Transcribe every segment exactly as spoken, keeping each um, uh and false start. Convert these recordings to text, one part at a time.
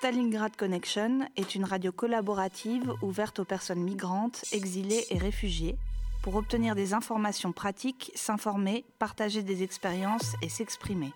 Stalingrad Connection est une radio collaborative ouverte aux personnes migrantes, exilées et réfugiées pour obtenir des informations pratiques, s'informer, partager des expériences et s'exprimer.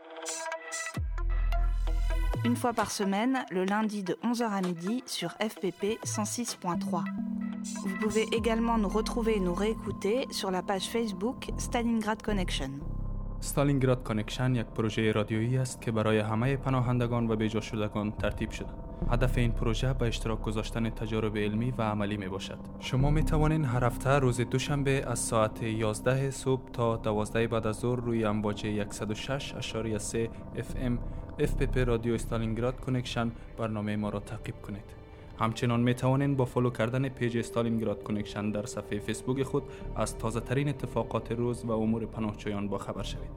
Une fois par semaine, le lundi de onze heures à midi sur F P P cent six point trois. Vous pouvez également nous retrouver et nous réécouter sur la page Facebook Stalingrad Connection. استالینگراد کانکشن یک پروژه رادیویی است که برای همه پناهندگان و بیجا شدگان ترتیب شده. هدف این پروژه به اشتراک گذاشتن تجارب علمی و عملی می باشد. شما می توانید هر هفته روز دوشنبه از ساعت یازده صبح تا دوازده بعد از ظهر روی امواج صد و شش ممیز سه اف ام اف پی پی رادیو استالینگراد کانکشن برنامه ما را تعقیب کنید. همچنان می توانید با فالو کردن پیج استالینگراد کانکشن در صفحه فیسبوک خود از تازه ترین اتفاقات روز و امور پناهجویان با خبر شوید.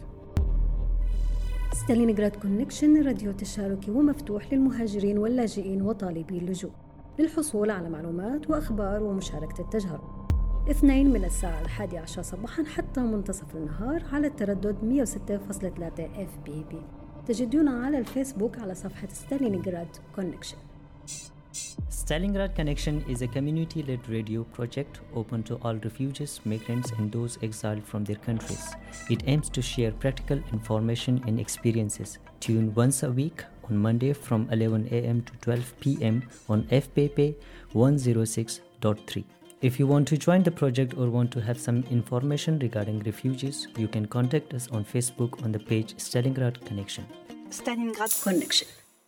ستالينغراد كونكشن راديو تشاركي ومفتوح للمهاجرين واللاجئين وطالبي اللجوء للحصول على معلومات وأخبار ومشاركة التجارب. اثنين من الساعة الحادية عشر صباحا حتى منتصف النهار على التردد مئة وستة فاصلة ثلاثة اف بي بي. تجدونا على الفيسبوك على صفحة ستالينغراد كونكشن. Stalingrad Connection is a community-led radio project open to all refugees, migrants, and those exiled from their countries. It aims to share practical information and experiences. Tune once a week on Monday from eleven a.m. to twelve p.m. on F P P one oh six point three. If you want to join the project or want to have some information regarding refugees, you can contact us on Facebook on the page Stalingrad Connection. Stalingrad Connection.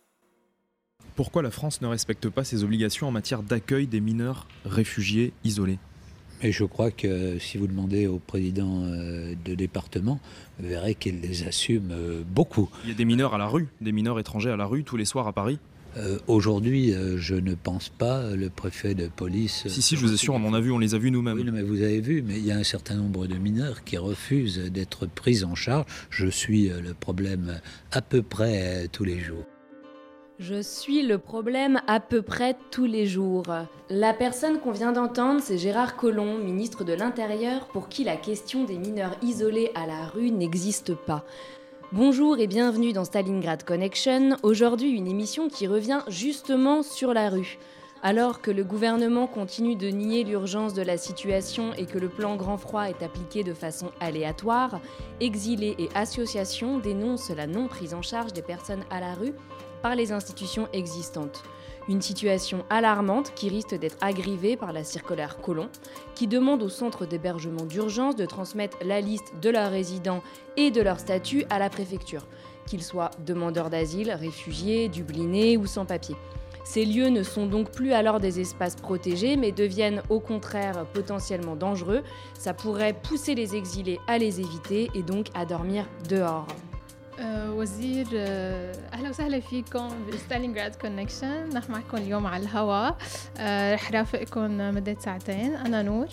Pourquoi la France ne respecte pas ses obligations en matière d'accueil des mineurs réfugiés isolés ? Et je crois que si vous demandez au président de département, vous verrez qu'il les assume beaucoup. Il y a des mineurs à la rue, des mineurs étrangers à la rue tous les soirs à Paris ? Euh, aujourd'hui, euh, je ne pense pas, le préfet de police... Si, si, je vous assure, on en a vu, on les a vus nous-mêmes. Oui, mais vous avez vu, mais il y a un certain nombre de mineurs qui refusent d'être pris en charge. Je suis le problème à peu près tous les jours. Je suis le problème à peu près tous les jours. La personne qu'on vient d'entendre, c'est Gérard Collomb, ministre de l'Intérieur, pour qui la question des mineurs isolés à la rue n'existe pas. Bonjour et bienvenue dans Stalingrad Connection. Aujourd'hui, une émission qui revient justement sur la rue. Alors que le gouvernement continue de nier l'urgence de la situation et que le plan grand froid est appliqué de façon aléatoire, exilés et associations dénoncent la non prise en charge des personnes à la rue par les institutions existantes. Une situation alarmante qui risque d'être aggravée par la circulaire Collomb, qui demande au centre d'hébergement d'urgence de transmettre la liste de leurs résidents et de leur statut à la préfecture, qu'ils soient demandeurs d'asile, réfugiés, dublinés ou sans-papiers. Ces lieux ne sont donc plus alors des espaces protégés, mais deviennent au contraire potentiellement dangereux. Ça pourrait pousser les exilés à les éviter et donc à dormir dehors. أه وزير أه أهلا وسهلا فيكم بستالينغراد كونكشن. نحن معكم اليوم على الهواء. أه رح رافقكم مدة ساعتين. أنا نور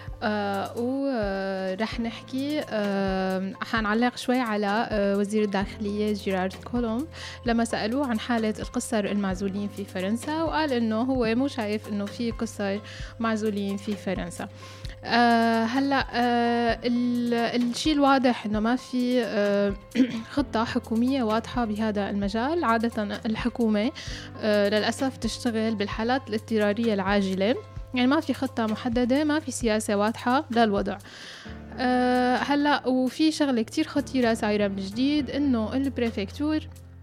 أه ورح نحكي أه حنعلق شوي على أه وزير الداخلية جيرارد كولومب لما سألوه عن حالة القُصّر المعزولين في فرنسا، وقال إنه هو مو شايف إنه في قُصّر معزولين في فرنسا. أه هلا أه الشيء الواضح انه ما في أه خطه حكوميه واضحه بهذا المجال. عاده الحكومه أه للاسف تشتغل بالحالات الاضطراريه العاجله، يعني ما في خطه محدده، ما في سياسه واضحه للوضع. أه هلا وفي شغله كتير خطيره صايره من جديد، انه البريفكتور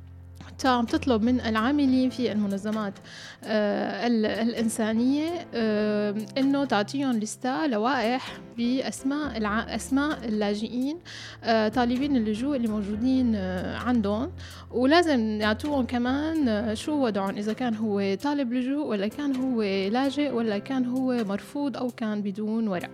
عم تطلب من العاملين في المنظمات آه الإنسانية آه إنه تعطيهم لسته لوائح بأسماء الع... أسماء اللاجئين آه طالبين اللجوء اللي موجودين آه عندهم، ولازم يعطوهم كمان آه شو وضعهم، إذا كان هو طالب لجوء ولا كان هو لاجئ ولا كان هو مرفوض أو كان بدون ورق.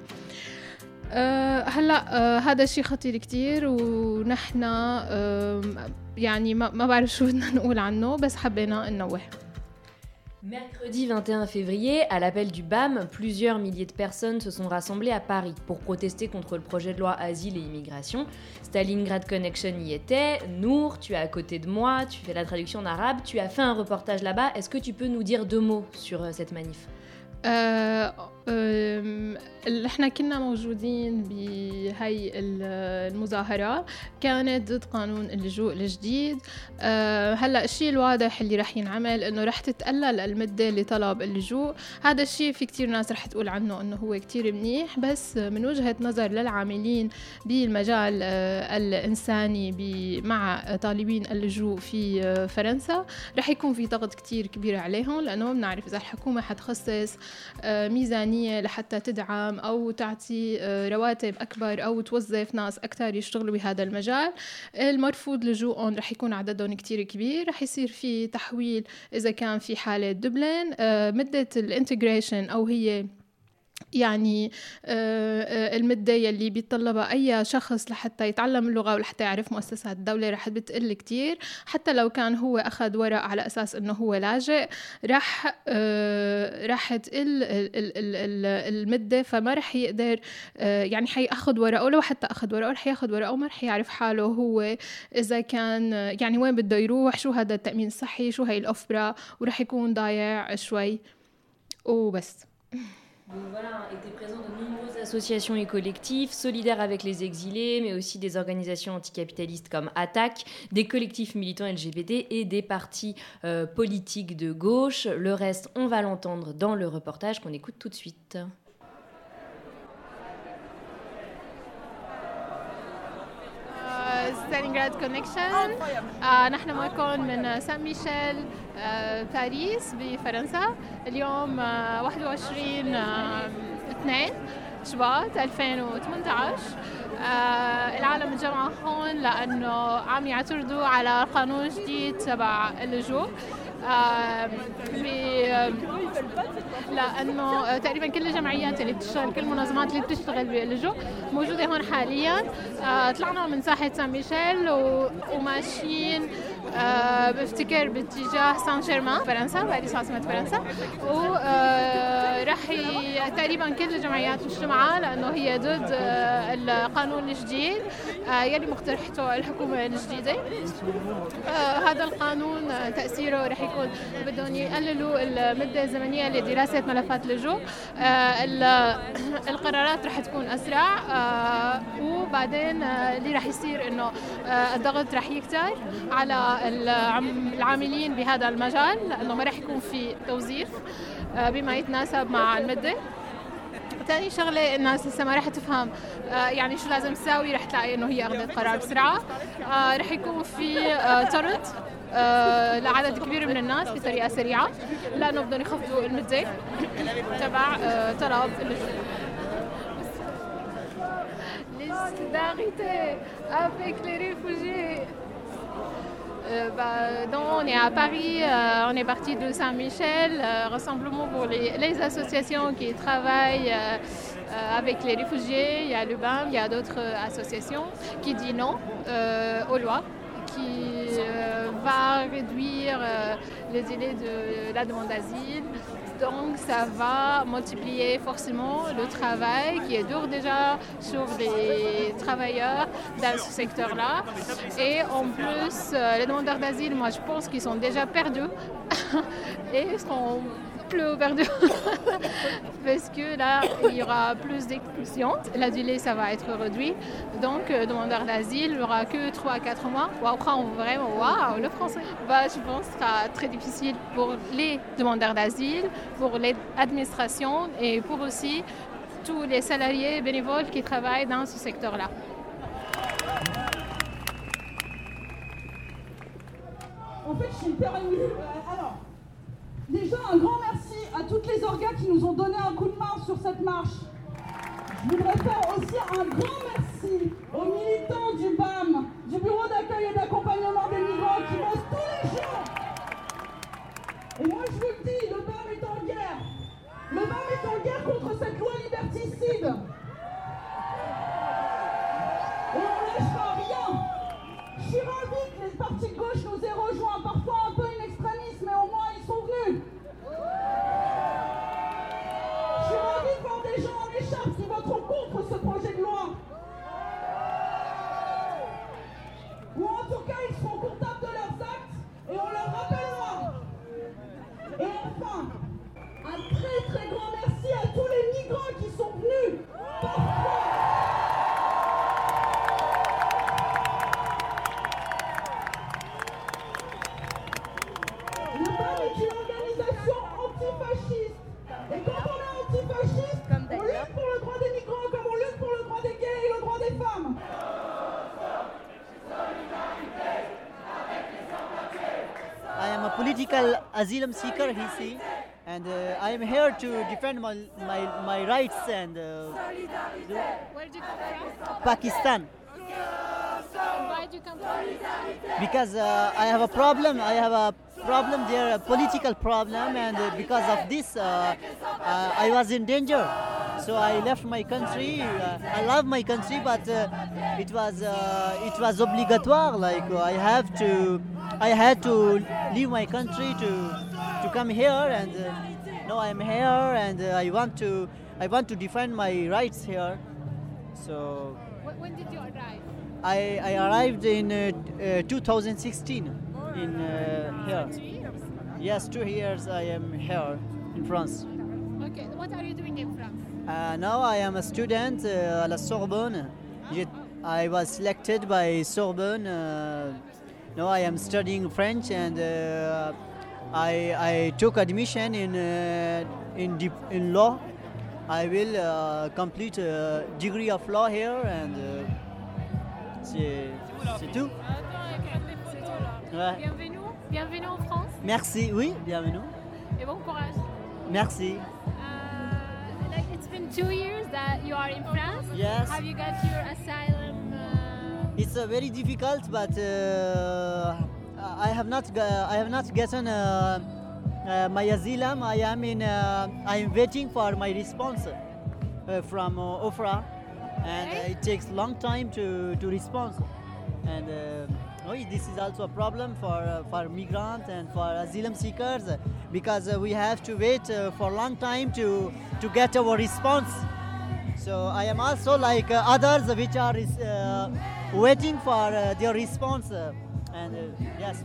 أه هلا أه هذا الشيء خطير كتير، ونحن أه يعني ما, ما بعرف شو بدنا نقول عنه، بس حبينا ننوه. Mercredi vingt et un février, à l'appel du B A M, plusieurs milliers de personnes se sont rassemblées à Paris pour protester contre le projet de loi Asile et Immigration. Stalingrad Connection y était. Nour, tu es à côté de moi, tu fais la traduction en arabe, tu as fait un reportage là-bas. Est-ce que tu peux nous dire deux mots sur euh, cette manif ? euh, احنا كنا موجودين بهاي المظاهرة كانت ضد قانون اللجوء الجديد. هلا الشيء الواضح اللي رح ينعمل انه رح تتقلل المدة لطلب اللجوء. هذا الشيء في كتير ناس رح تقول عنه انه هو كتير منيح، بس من وجهة نظر للعاملين بالمجال الإنساني مع طالبين اللجوء في فرنسا رح يكون في ضغط كتير كبير عليهم، لأنه ما بنعرف إذا الحكومة حتخصص ميزانية لحتى تدعم أو تعطي رواتب أكبر أو توظف ناس أكثر يشتغلوا بهذا المجال. المرفوض لجوءهم رح يكون عددهم كتير كبير، رح يصير في تحويل إذا كان في حالة دبلين. مدة الانتجريشن أو هي يعني المدة يلي بيتطلبها أي شخص لحتى يتعلم اللغة ولحتى يعرف مؤسسات الدولة رح بتقل كتير. حتى لو كان هو أخذ ورق على أساس أنه هو لاجئ رح رح تقل المدة، فما رح يقدر يعني حيأخذ ورقه، ولو حتى أخذ ورقه رح يأخذ ورقه وما رح يعرف حاله هو إذا كان يعني وين بده يروح، شو هذا التأمين الصحي، شو هاي الأوفرا، ورح يكون ضايع شوي وبس. Donc voilà, étaient présents de nombreuses associations et collectifs solidaires avec les exilés, mais aussi des organisations anticapitalistes comme Attac, des collectifs militants L G B T et des partis euh, politiques de gauche. Le reste, on va l'entendre dans le reportage qu'on écoute tout de suite. ستالينغراد كونكشن. آه نحن معكم من سان ميشيل آه باريس بفرنسا. اليوم آه واحد وعشرين آه اثنين شباط ألفين وثمانية عشر. آه العالم الجمعة هون لأنه عم يعترضوا على قانون جديد تبع اللجوء. آه لأنه تقريبا كل الجمعيات اللي بتشتغل، كل المنظمات اللي بتشتغل باللجوء موجودة هون حاليا. آه طلعنا من ساحة سان ميشيل وماشيين آه بفتكر باتجاه سان جيرمان فرنسا، باريس عاصمة فرنسا. ورح آه تقريبا كل الجمعيات مجتمعة لأنه هي ضد آه القانون الجديد آه يلي مقترحته الحكومة الجديدة. آه هذا القانون آه تأثيره رح يكون بدهم يقللوا المدة الزمنية لدراسة ملفات اللجوء. آه القرارات رح تكون أسرع. آه وبعدين آه اللي رح يصير إنه آه الضغط رح يكتر على العاملين بهذا المجال، لأنه ما رح يكون في توظيف آه بما يتناسب مع المدة. تاني شغلة الناس لسه ما رح تفهم آه يعني شو لازم تساوي، رح تلاقي إنه هي أخذت قرار بسرعة. آه رح يكون في آه طرد آه لعدد كبير من الناس بطريقة سريعة، لأنه بدهم يخفضوا المدة تبع آه طلب اللجوء. Les solidarités avec les réfugiés. Euh, bah, donc on est à Paris, euh, on est parti de Saint-Michel, euh, rassemblement pour les, les associations qui travaillent euh, euh, avec les réfugiés. Il y a le B A M, il y a d'autres associations qui disent non euh, aux lois, qui euh, va réduire euh, le délai de la demande d'asile. Donc ça va multiplier forcément le travail qui est dur déjà sur les travailleurs dans ce secteur-là. Et en plus, les demandeurs d'asile, moi je pense qu'ils sont déjà perdus et ils seront plus perdus parce que là il y aura plus d'expulsions. La délai ça va être réduit. Donc euh, demandeur d'asile il n'y aura que trois à quatre mois. Wow, vraiment waouh le français. Bah, je pense que ce sera très difficile pour les demandeurs d'asile, pour l'administration et pour aussi tous les salariés bénévoles qui travaillent dans ce secteur-là. En fait, je suis hyper émue. Euh, alors, déjà, un grand merci à toutes les orgas qui nous ont donné un coup de main sur cette marche. Je voudrais faire aussi un grand merci aux militants du B A M, du Bureau d'accueil et d'accompagnement des migrants qui bossent tous les jours. Et moi, je vous le dis, le B A M est en guerre. Le B A M est en guerre contre cette loi liberticide. Et on ne lâchera rien. Je suis ravie que les partis de gauche nous aient rejoints, parfois un peu in extremis, mais au moins ils sont venus. Je suis ravie de voir des gens en écharpe qui voteront contre ce projet de loi. Ou en tout cas est une organisation antifasciste. Et quand on est antifasciste, on lutte pour le droit des migrants comme on lutte pour le droit des gays et le droit des femmes. I am a political asylum seeker, he see, and uh, I am here to defend my my, my rights and. Uh, Where did you come from? Pakistan. Why did you come from? Because uh, I have a problem. I have a problem there, a political problem, and uh, because of this, uh, uh, I was in danger. So I left my country. Uh, I love my country, but uh, it was uh, it was obligatoire. Like I have to, I had to leave my country to to come here, and uh, now I'm here, and uh, I want to I want to defend my rights here. So. When did you arrive? I, I arrived in uh, uh, two thousand sixteen in uh, here. Two years? Yes, two years I am here in France. Okay, what are you doing in France? Uh, now I am a student uh, at la Sorbonne. Yet I was selected by Sorbonne. Uh, now I am studying French, and uh, I, I took admission in uh, in, dip- in law. I will uh, complete a degree of law here, and uh, c'est, c'est tout. Ouais. Bienvenue, bienvenue en France. Merci, oui, bienvenue. Et bon courage. Merci. Uh, like it's been two years that you are in France. Yes. Have you got your asylum? Uh... It's uh, very difficult, but uh, I have not, g- I have not gotten uh, uh, my asylum. I am in. Uh, I am waiting for my response uh, from uh, O F R A, and uh, it takes long time to to respond. And uh, oh, this is also a problem for uh, for migrants and for asylum seekers, because uh, we have to wait uh, for a long time to to get our response. So I am also like uh, others which are uh, waiting for uh, their response. Uh, and uh, yes.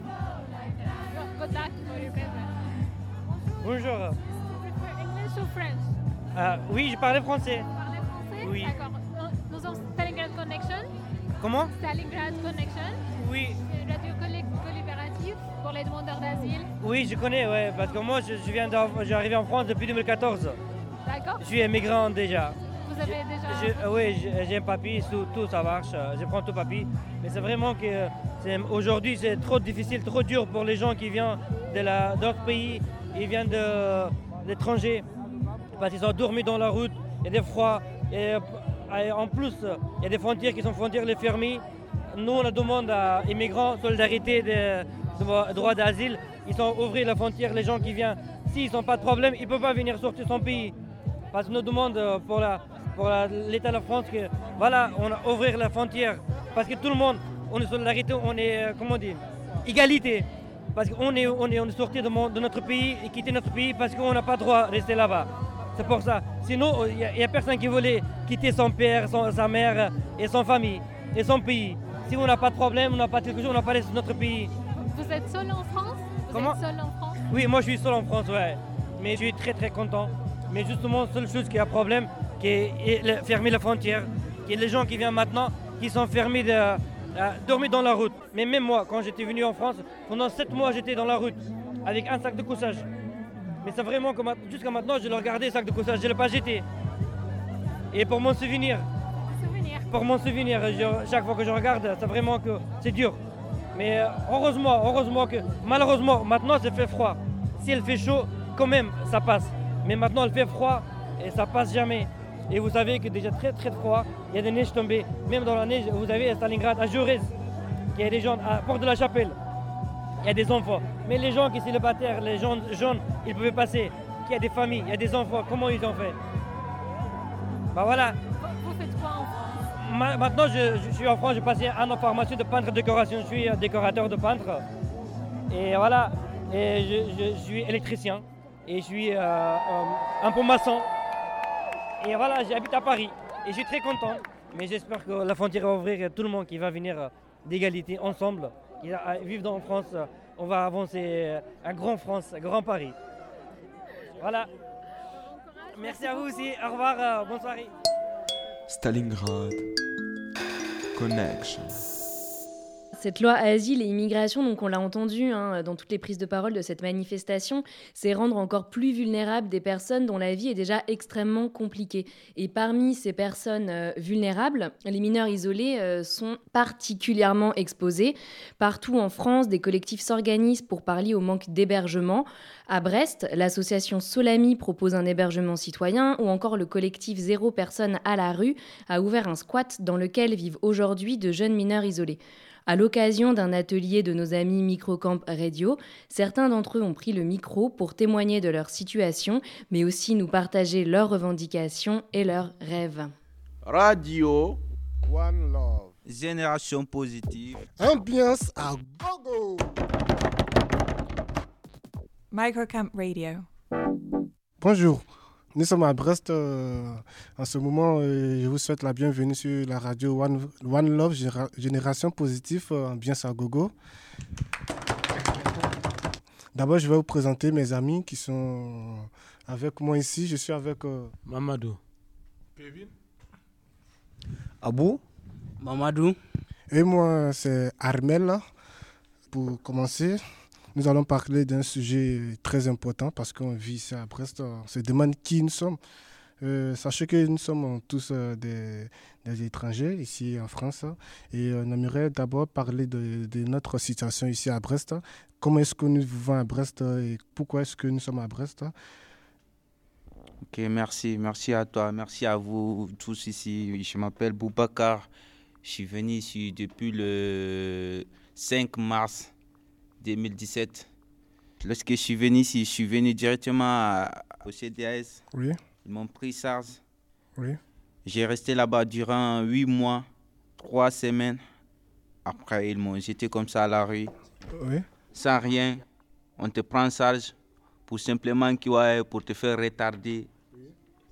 Good luck for your paper. Bonjour. English or French? Euh, oui, je parlais français. Vous parlez français? Oui. D'accord. Nous sommes Stalingrad Connection. Comment? Stalingrad Connection. Oui. C'est une radio coll- collaborative pour les demandeurs d'asile. Oui, je connais, ouais, parce que moi, je, je viens d'arriver je suis arrivé en France depuis deux mille quatorze. D'accord. Je suis immigrant déjà. Vous avez déjà... Je, euh, oui, j'ai j'ai un papier, tout, tout ça marche, euh, je prends tout papier. Mais c'est vraiment que euh, c'est- aujourd'hui, c'est trop difficile, trop dur pour les gens qui viennent de la- d'autres pays, ils viennent de l'étranger, parce qu'ils ont dormi dans la route, il y a des froids, et, euh, et en plus, il y a des frontières qui sont frontières les fermées. Nous, on demande à immigrants, solidarité, de, de droit d'asile, ils sont ouvrir la frontière, les gens qui viennent, s'ils n'ont pas de problème, ils ne peuvent pas venir sortir son pays. Parce qu'on nous demande euh, pour la pour la- l'État de la France que voilà, on a ouvrir la frontière parce que tout le monde, on est solidarité, on est euh, comment dire, égalité. Parce qu'on est on est on est sorti de, mon- de notre pays et quitté notre pays parce qu'on n'a pas le droit de rester là-bas. C'est pour ça. Sinon, il n'y a, a personne qui voulait quitter son père, son- sa mère et son famille et son pays. Si on n'a pas de problème, on n'a pas quelque chose, on n'a pas laissé notre pays. Vous êtes seul en France? Vous Comment? êtes seul en France? Oui, moi je suis seul en France, ouais. Mais je suis très très content. Mais justement, la seule chose qui a problème, qui est, est le- fermer la frontière, qui est les gens qui viennent maintenant, qui sont fermés de euh, dormir dans la route. Mais même moi, quand j'étais venu en France, pendant sept mois j'étais dans la route avec un sac de couchage. Mais c'est vraiment que ma- jusqu'à maintenant, je le regardais, le sac de couchage, je ne l'ai pas jeté. Et pour mon souvenir, Souvenir. pour mon souvenir, je- chaque fois que je regarde, c'est vraiment que c'est dur. Mais euh, heureusement, heureusement que malheureusement, maintenant, il fait froid. Si elle fait chaud, quand même, ça passe. Mais maintenant, il fait froid et ça passe jamais. Et vous savez que déjà très très froid, il y a des neiges tombées. Même dans la neige, vous avez à Stalingrad, à Jaurès, il y a des gens à Porte de la Chapelle. Il y a des enfants. Mais les gens qui sont célibataires, les gens jeunes, ils pouvaient passer. Il y a des familles, il y a des enfants. Comment ils ont fait? Bah voilà. Vous faites quoi en France? Ma- Maintenant, je, je suis en France, j'ai passé un an en formation de peintre décoration. Je suis euh, décorateur de peintre. Et voilà, et je, je suis électricien. Et je suis euh, euh, un peu maçon. Et voilà, j'habite à Paris. Et je suis très content. Mais j'espère que la frontière va ouvrir et tout le monde qui va venir euh, d'égalité ensemble. Qui va euh, vivre dans France, euh, on va avancer euh, un grand France, un grand Paris. Voilà. Merci à vous aussi. Au revoir, euh, bonne soirée. Stalingrad Connection. Cette loi asile et immigration, donc on l'a entendu hein, dans toutes les prises de parole de cette manifestation, c'est rendre encore plus vulnérables des personnes dont la vie est déjà extrêmement compliquée. Et parmi ces personnes euh, vulnérables, les mineurs isolés euh, sont particulièrement exposés. Partout en France, des collectifs s'organisent pour pallier au manque d'hébergement. À Brest, l'association Solami propose un hébergement citoyen ou encore le collectif Zéro personne à la rue a ouvert un squat dans lequel vivent aujourd'hui de jeunes mineurs isolés. À l'occasion d'un atelier de nos amis Microcamp Radio, certains d'entre eux ont pris le micro pour témoigner de leur situation, mais aussi nous partager leurs revendications et leurs rêves. Radio One Love. Génération positive. Ambiance à gogo. Microcamp Radio. Bonjour. Nous sommes à Brest. Euh, en ce moment, euh, je vous souhaite la bienvenue sur la radio One, One Love, Géra- Génération Positive, euh, Ambiance à Gogo. D'abord, je vais vous présenter mes amis qui sont avec moi ici. Je suis avec euh, Mamadou. Kevin. Abou. Mamadou. Et moi, c'est Armel. Pour commencer, nous allons parler d'un sujet très important parce qu'on vit ici à Brest. On se demande qui nous sommes. Euh, sachez que nous sommes tous euh, des, des étrangers ici en France et on aimerait d'abord parler de, de notre situation ici à Brest. Comment est-ce que nous vivons à Brest et pourquoi est-ce que nous sommes à Brest? Ok, merci. Merci à toi. Merci à vous tous ici. Je m'appelle Boubacar. Je suis venu ici depuis le cinq mars deux mille dix-sept. Lorsque je suis venu ici, je suis venu directement à, au C D A S. Oui. Ils m'ont pris SARS. Oui. J'ai resté là-bas durant huit mois, trois semaines. Après, ils m'ont jeté comme ça à la rue. Oui. Sans rien. On te prend en charge pour simplement ouais, pour te faire retarder. Oui.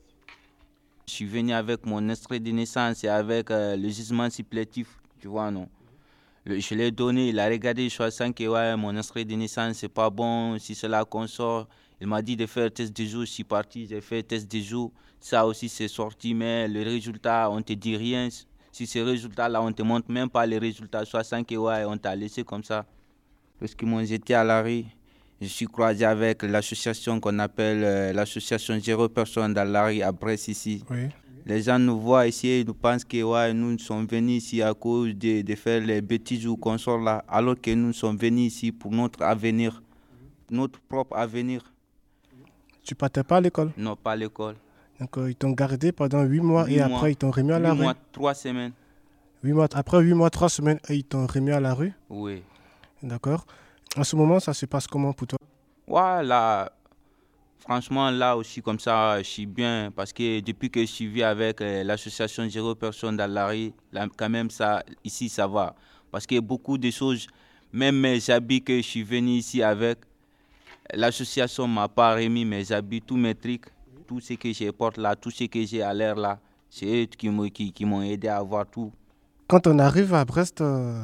Je suis venu avec mon extrait de naissance et avec euh, le jugement supplétif, tu vois, non. Je l'ai donné, il a regardé, je sens que ouais, mon extrait de naissance, c'est pas bon, si c'est là qu'on sort. Il m'a dit de faire test de jour, je suis parti, j'ai fait test de jour. Ça aussi, c'est sorti, mais le résultat, on ne te dit rien. Si ces résultats-là, on ne te montre même pas les résultats, soit sans que ouais, on t'a laissé comme ça. Parce qu'ils m'ont jeté à la rue, je suis croisé avec l'association qu'on appelle euh, l'association Zéro personne dans la rue à Brest ici. Oui. Les gens nous voient ici et nous pensent que ouais, nous sommes venus ici à cause de, de faire les bêtises ou qu'on sort là, alors que nous sommes venus ici pour notre avenir, notre propre avenir. Tu partais pas à l'école? Non, pas à l'école. Donc euh, ils t'ont gardé pendant huit mois huit et mois. Après ils t'ont remis à la rue? huit mois, trois semaines. huit mois, après huit mois, trois semaines, et ils t'ont remis à la rue? Oui. D'accord. En ce moment, ça se passe comment pour toi? Voilà. Franchement, là aussi, comme ça, je suis bien parce que depuis que je suis venu avec euh, l'association Zéro Personne dans la rue, là, quand même, ça, ici, ça va. Parce que beaucoup de choses, même mes habits que je suis venu ici avec, l'association ne m'a pas remis mes habits, tous mes trucs, tout ce que je porte là, tout ce que j'ai à l'air là, c'est eux qui, m'ont, qui, qui m'ont aidé à avoir tout. Quand on arrive à Brest, euh,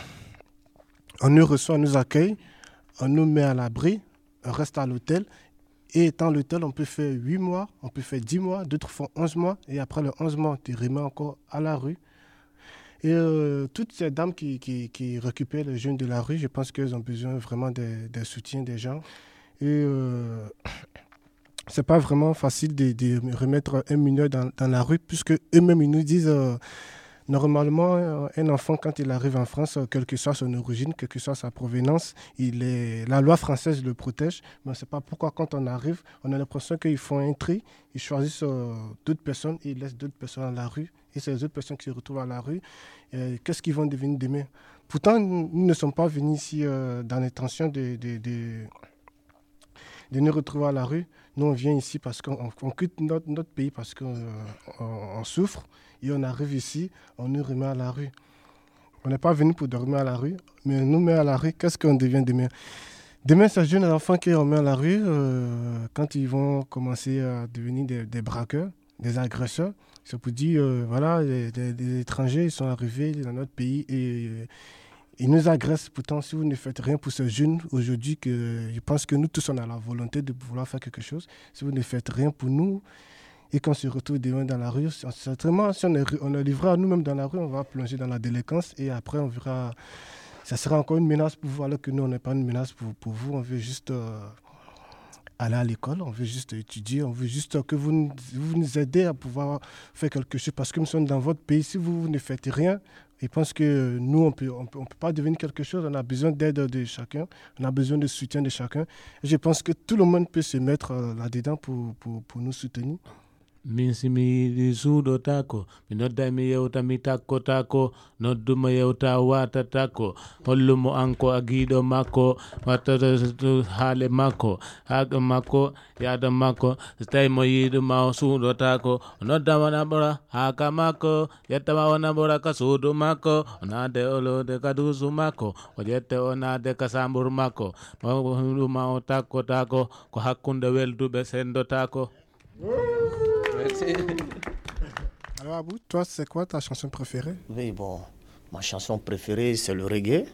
on nous reçoit, on nous accueille, on nous met à l'abri, on reste à l'hôtel. Et étant l'hôtel, on peut faire huit mois, on peut faire dix mois, d'autres font onze mois. Et après le onze mois, tu remets encore à la rue. Et euh, toutes ces dames qui, qui, qui récupèrent les jeunes de la rue, je pense qu'elles ont besoin vraiment des, des soutiens des gens. Et euh, c'est pas vraiment facile de, de remettre un mineur dans, dans la rue, puisque eux-mêmes, ils nous disent... Euh, Normalement, un enfant, quand il arrive en France, quelle que soit son origine, quelle que soit sa provenance, il est... la loi française le protège. Mais on ne sait pas pourquoi, quand on arrive, on a l'impression qu'ils font un tri, ils choisissent euh, d'autres personnes et ils laissent d'autres personnes à la rue. Et c'est les autres personnes qui se retrouvent à la rue. Et qu'est-ce qu'ils vont devenir demain? Pourtant, nous ne sommes pas venus ici euh, dans l'intention de, de, de, de nous retrouver à la rue. Nous, on vient ici parce qu'on on quitte notre, notre pays parce qu'on euh, on, on souffre. Et on arrive ici, on nous remet à la rue. On n'est pas venu pour dormir à la rue, mais on nous met à la rue. Qu'est-ce qu'on devient demain? Demain, ces jeunes enfants qui on met à la rue, euh, quand ils vont commencer à devenir des, des braqueurs, des agresseurs, c'est pour dire, euh, voilà, des, des, des étrangers, ils sont arrivés dans notre pays et euh, ils nous agressent. Pourtant, si vous ne faites rien pour ces jeunes aujourd'hui, que, je pense que nous tous, on a la volonté de vouloir faire quelque chose. Si vous ne faites rien pour nous, et qu'on se retrouve demain dans la rue, certainement, si on est, on est livré à nous-mêmes dans la rue, on va plonger dans la délinquance et après, on verra ça sera encore une menace pour vous, alors que nous, on n'est pas une menace pour, pour vous. On veut juste euh, aller à l'école, on veut juste étudier, on veut juste que vous nous, vous nous aidez à pouvoir faire quelque chose. Parce que nous sommes dans votre pays, si vous, vous ne faites rien, je pense que nous, on peut, on peut, on peut pas devenir quelque chose. On a besoin d'aide de chacun, on a besoin de soutien de chacun. Et je pense que tout le monde peut se mettre euh, là-dedans pour, pour, pour nous soutenir. Minsimi di sudo tako minodda mi yewta mi takko tako nodduma yewta wata tako hollumo anko agiɗo makko wattata haale makko haga makko yada makko so tawi mo yiɗuma o suuɗotako o noddama naɓora haka makko yettama o naɓora ka suudu makko o naade olode ka duusu makko o ƴette o naade ka samburu makko ɗuma o takkotako ko hakkunde welduɓe sendotako. Alors Abou, toi c'est quoi ta chanson préférée? Oui, bon, ma chanson préférée c'est le reggae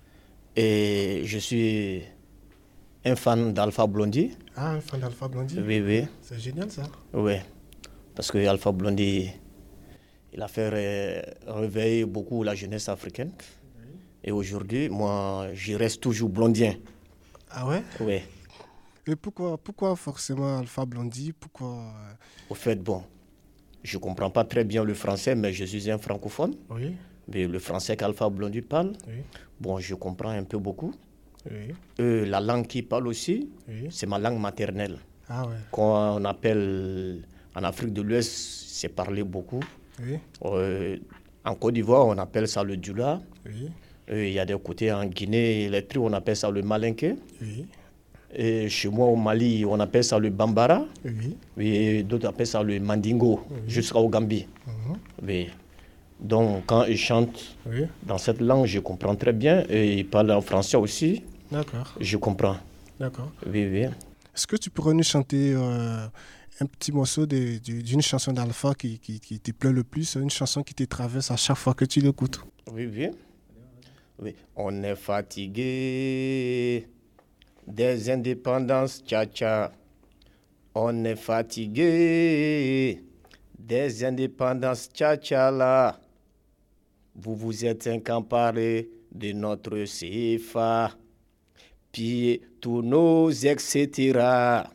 et je suis un fan d'Alpha Blondy. Ah, un fan d'Alpha Blondy? Oui, oui. C'est génial ça. Oui, parce que Alpha Blondy, il a fait ré- réveiller beaucoup la jeunesse africaine. Oui. Et aujourd'hui, moi, je reste toujours blondien. Ah ouais? Oui. Et pourquoi, pourquoi forcément Alpha Blondy? Pourquoi... Au fait, bon, je ne comprends pas très bien le français, mais je suis un francophone. Oui. Mais le français qu'Alpha Blondy parle, oui. Bon, je comprends un peu beaucoup. Oui. Euh, la langue qu'il parle aussi, oui. C'est ma langue maternelle. Ah ouais. Qu'on appelle, en Afrique de l'Ouest, c'est parlé beaucoup. Oui. Euh, en Côte d'Ivoire, on appelle ça le dula. Oui. Euh, il y a des côtés en Guinée, les trous, on appelle ça le malinké. Oui. Et chez moi au Mali, on appelle ça le bambara. Oui. Et d'autres appellent ça le mandingo, oui. Jusqu'au Gambie. Uh-huh. Oui. Donc quand ils chantent oui. Dans cette langue, je comprends très bien. Et ils parlent en français aussi. D'accord. Je comprends. D'accord. Oui, oui. Est-ce que tu pourrais nous chanter euh, un petit morceau de, de, d'une chanson d'Alpha qui, qui, qui te plaît le plus, une chanson qui te traverse à chaque fois que tu l'écoutes? Oui, oui. Oui. On est fatigué des indépendances, tcha-tcha. On est fatigué des indépendances, tcha-tcha là. Vous vous êtes incamparés de notre C F A, pillez tous nos et cetera.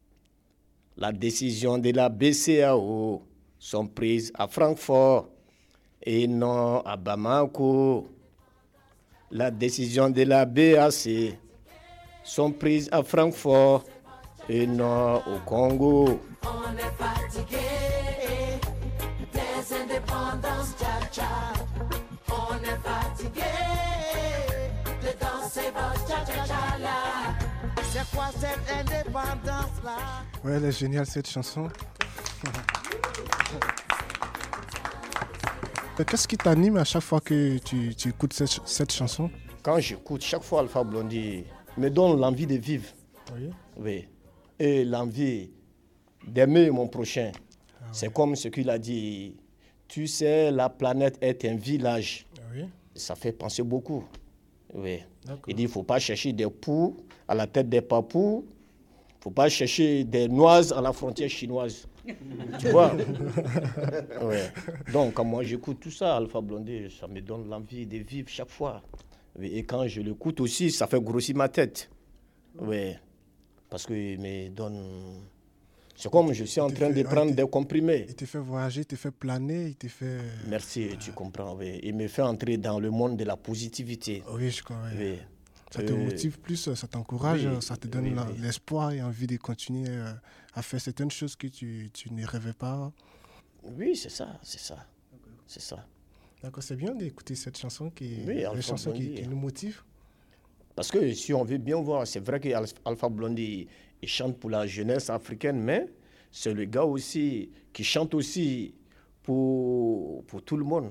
La décision de la B C E A O sont prises à Francfort et non à Bamako. La décision de la B A C sont prises à Francfort et non au Congo. On est fatigué des indépendances, tcha-tcha. On est fatigué de danser votre tcha-tcha-tcha là. C'est quoi cette indépendance là? Ouais, elle est géniale cette chanson. Qu'est-ce qui t'anime à chaque fois que tu, tu écoutes cette, cette chanson? Quand j'écoute, chaque fois Alpha Blondy me donne l'envie de vivre. Oui. Oui. Et l'envie d'aimer mon prochain. Ah, c'est oui. Comme ce qu'il a dit. Tu sais, la planète est un village. Oui. Ça fait penser beaucoup. Oui. Il dit, il ne faut pas chercher des poux à la tête des papous. Il ne faut pas chercher des noises à la frontière chinoise. Tu vois? Oui. Donc, quand moi j'écoute tout ça, Alpha Blondy, ça me donne l'envie de vivre chaque fois. Et quand je l'écoute aussi, ça fait grossir ma tête. Oui. Parce qu'il me donne... C'est comme je suis en train de prendre des comprimés. Il te fait voyager, il te fait planer, il te fait... Merci, tu comprends. Oui. Il me fait entrer dans le monde de la positivité. Oui, je crois. Oui. Oui. Ça te euh... motive plus, ça t'encourage, oui, ça te donne oui, la, oui. l'espoir et envie de continuer à faire certaines choses que tu, tu ne rêvais pas. Oui, c'est ça, c'est ça. C'est ça. D'accord, c'est bien d'écouter cette chanson qui, oui, les chansons qui, qui nous motivent. Parce que si on veut bien voir, c'est vrai qu'Alpha Blondy il chante pour la jeunesse africaine, mais c'est le gars aussi qui chante aussi pour, pour tout le monde.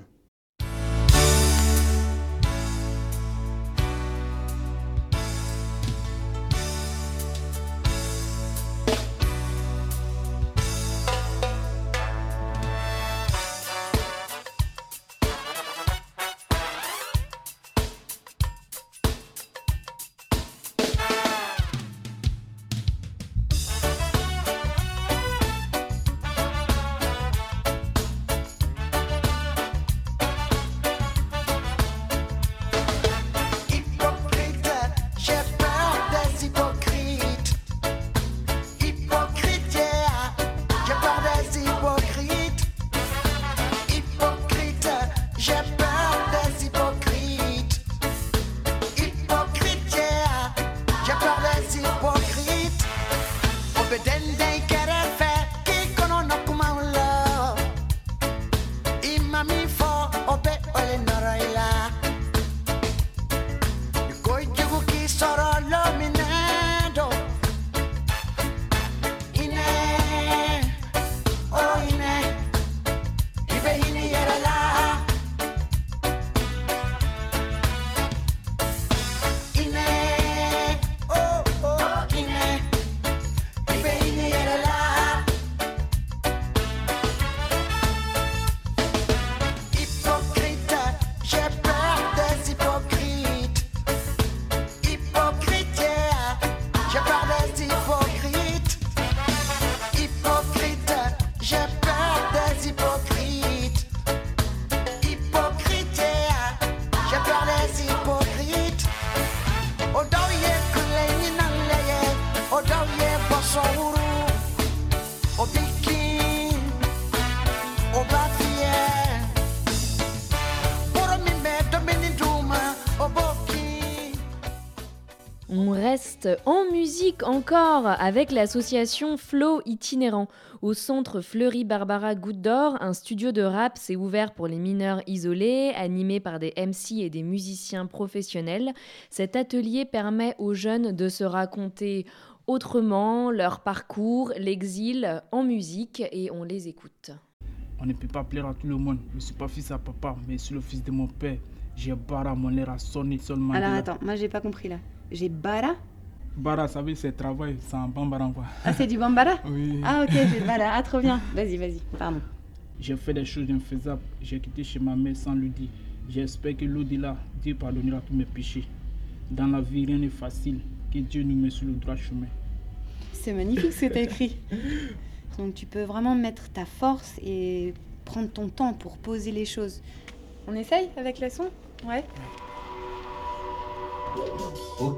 souru, au biki, au bafie, pour mi mettre mini douma, au boki. On reste en musique encore avec l'association Flow Itinérant. Au centre Fleury Barbara Goutte d'Or, un studio de rap s'est ouvert pour les mineurs isolés, animé par des M C et des musiciens professionnels. Cet atelier permet aux jeunes de se raconter autrement leur parcours, l'exil en musique, et on les écoute. On ne peut pas plaire à tout le monde. Je ne suis pas fils à papa, mais je suis le fils de mon père. J'ai Bara, mon air a sonné seulement. Alors attends, moi j'ai pas compris là. J'ai Bara? Bara, ça veut dire c'est travail, c'est un bambara quoi. Ah, c'est du bambara? Oui. Ah, ok, j'ai Bara. Ah, trop bien. Vas-y, vas-y, pardon. J'ai fait des choses infaisables. J'ai quitté chez ma mère sans lui dire. J'espère que l'au-delà, Dieu pardonnera tous mes péchés. Dans la vie, rien n'est facile. Que Dieu nous met sur le droit chemin. C'est magnifique ce que tu as écrit. Donc tu peux vraiment mettre ta force et prendre ton temps pour poser les choses. On essaye avec le son? Ouais. Ok.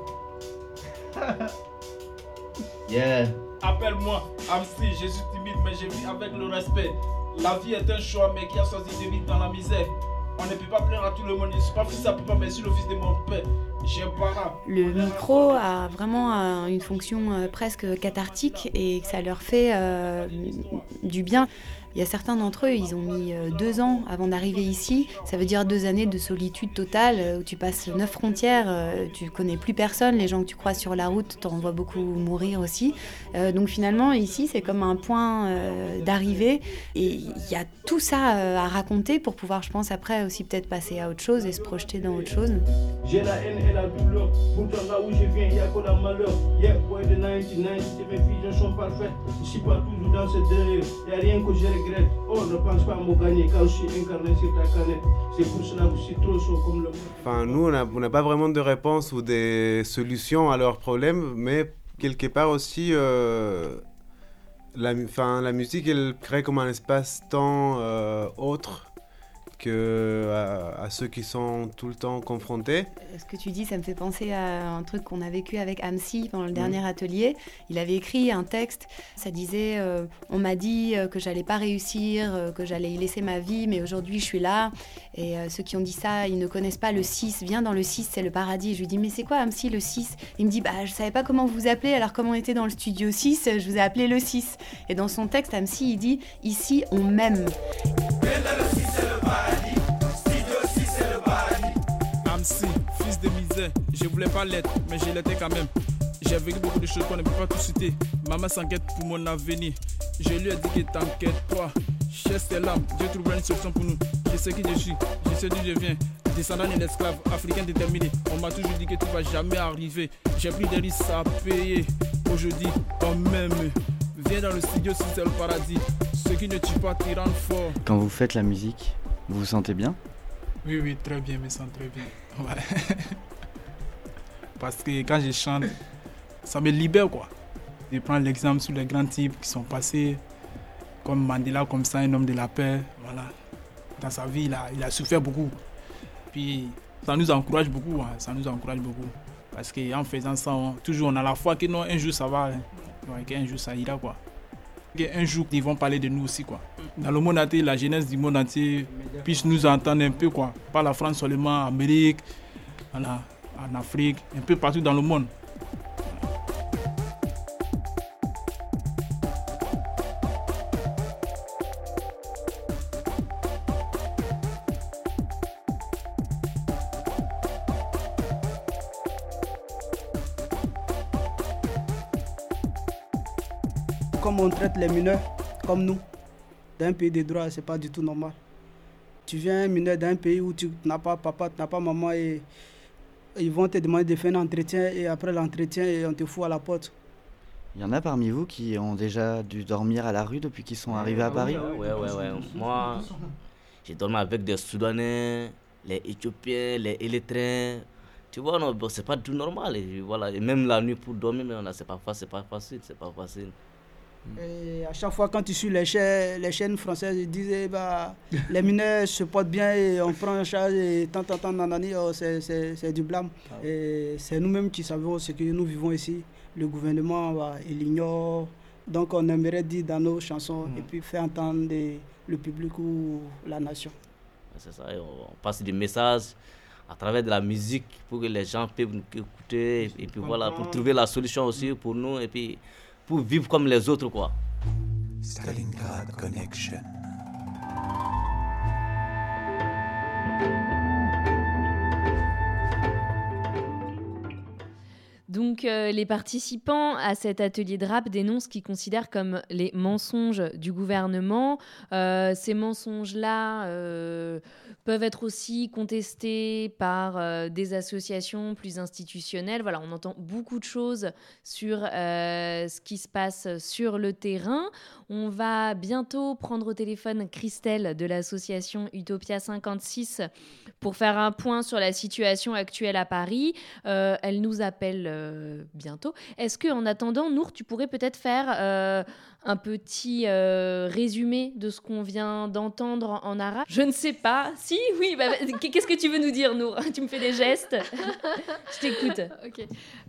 Yeah. Appelle-moi Amsi, je suis timide mais je vis avec le respect. La vie est un choix mais qui a choisi de vivre dans la misère. On ne peut pas plaire à tout le monde, je ne suis pas fils à papa mais je suis le fils de mon père. J'ai Bara. Le micro a vraiment euh, une fonction euh, presque cathartique et ça leur fait euh, du bien. Il y a certains d'entre eux, ils ont mis euh, deux ans avant d'arriver ici. Ça veut dire deux années de solitude totale euh, où tu passes neuf frontières, euh, tu connais plus personne. Les gens que tu croises sur la route, t'en vois beaucoup mourir aussi. Euh, donc finalement, ici, c'est comme un point euh, d'arrivée. Et il y a tout ça euh, à raconter pour pouvoir, je pense, après aussi peut-être passer à autre chose et se projeter dans autre chose. J'ai la haine et la douleur. Pourtant là où je viens, il n'y a que la malheur. Yeah, boy de quatre-vingt-dix-neuf, mes visions sont parfaites. Je suis pas toujours dans ce délire. Il n'y a rien que je regrette. Oh, ne pense pas à me gagner quand je suis incarné sur ta canette. C'est pour cela que je suis trop chaud comme le monde. Enfin, nous, on n'a pas vraiment de réponse ou des solutions à leurs problèmes, mais quelque part aussi, euh, la, la musique, elle crée comme un espace-temps euh, autre que à, à ceux qui sont tout le temps confrontés. Ce que tu dis, ça me fait penser à un truc qu'on a vécu avec Amsi pendant le dernier mmh. atelier. Il avait écrit un texte, ça disait euh, « On m'a dit euh, que j'allais pas réussir, euh, que j'allais y laisser ma vie, mais aujourd'hui je suis là. » Et euh, ceux qui ont dit ça, ils ne connaissent pas le six. Viens dans le six, c'est le paradis. Et je lui dis « Mais c'est quoi Amsi, le six ?» Il me dit bah, « Je savais pas comment vous appeler, alors comme on était dans le studio six, je vous ai appelé le six. » Et dans son texte, Amsi, il dit « Ici, on m'aime. » Amsi, fils de misère, je voulais pas l'être, mais je l'étais quand même. J'ai vécu beaucoup de choses qu'on ne peut pas tout citer. Maman s'inquiète pour mon avenir. Je lui ai dit que t'inquiète pas. Cherche tes larmes, Dieu trouvera une solution pour nous. Je sais qui je suis, je sais d'où je viens. Descendant d'un esclave, africain déterminé. On m'a toujours dit que tu vas jamais arriver. J'ai pris des risques à payer. Aujourd'hui, quand même, viens dans le studio si c'est le paradis. Ce qui ne tue pas t'y rend fort. Quand vous faites la musique, vous vous sentez bien? Oui, oui, très bien, je me sens très bien. Ouais. Parce que quand je chante, ça me libère quoi. Je prends l'exemple sur les grands types qui sont passés, comme Mandela, comme ça, un homme de la paix. Voilà. Dans sa vie, il a, il a souffert beaucoup. Puis ça nous encourage beaucoup, hein. Ça nous encourage beaucoup. Parce qu'en faisant ça, on, toujours on a la foi que non, un jour ça va, hein. Ouais, qu'un jour ça ira quoi. Un jour, ils vont parler de nous aussi, quoi. Dans le monde entier, la jeunesse du monde entier puisse nous entendre un peu, quoi. Pas la France seulement, en Amérique, voilà, en Afrique, un peu partout dans le monde. Comme on traite les mineurs, comme nous, dans un pays de droit, c'est pas du tout normal. Tu viens un mineur d'un pays où tu n'as pas papa, tu n'as pas maman et ils vont te demander de faire un entretien et après l'entretien, on te fout à la porte. Il y en a parmi vous qui ont déjà dû dormir à la rue depuis qu'ils sont arrivés à Paris? Ouais, ouais, ouais. Moi, j'ai dormi avec des Soudanais, les Éthiopiens, les Érythréens. Tu vois, non, bon, c'est pas tout normal. Et voilà. Et même la nuit pour dormir, mais on a, c'est pas, c'est pas facile, c'est pas facile. Et à chaque fois, quand tu suis les chaînes, les chaînes françaises, ils disaient bah, les mineurs se portent bien et on prend en charge et tant, tant, tant, nanani, oh, c'est, c'est, c'est du blâme. Ah ouais. Et c'est nous-mêmes qui savons ce que nous vivons ici. Le gouvernement, bah, il ignore. Donc on aimerait dire dans nos chansons mmh. et puis faire entendre des, le public ou la nation. C'est ça, on passe des messages à travers de la musique pour que les gens puissent nous écouter et puis voilà, pour trouver la solution aussi pour nous et puis pour vivre comme les autres, quoi. Stalingrad Connection. Donc euh, les participants à cet atelier de rap dénoncent ce qu'ils considèrent comme les mensonges du gouvernement. Euh, ces mensonges-là euh, peuvent être aussi contestés par euh, des associations plus institutionnelles. Voilà, on entend beaucoup de choses sur euh, ce qui se passe sur le terrain. On va bientôt prendre au téléphone Christelle de l'association Utopia cinquante-six pour faire un point sur la situation actuelle à Paris. Euh, elle nous appelle euh, bientôt. Est-ce qu'en attendant, Nour, tu pourrais peut-être faire euh, un petit euh, résumé de ce qu'on vient d'entendre en arabe? Je ne sais pas. Si, oui. Bah, qu'est-ce que tu veux nous dire, Nour? Tu me fais des gestes. Je t'écoute. Ok.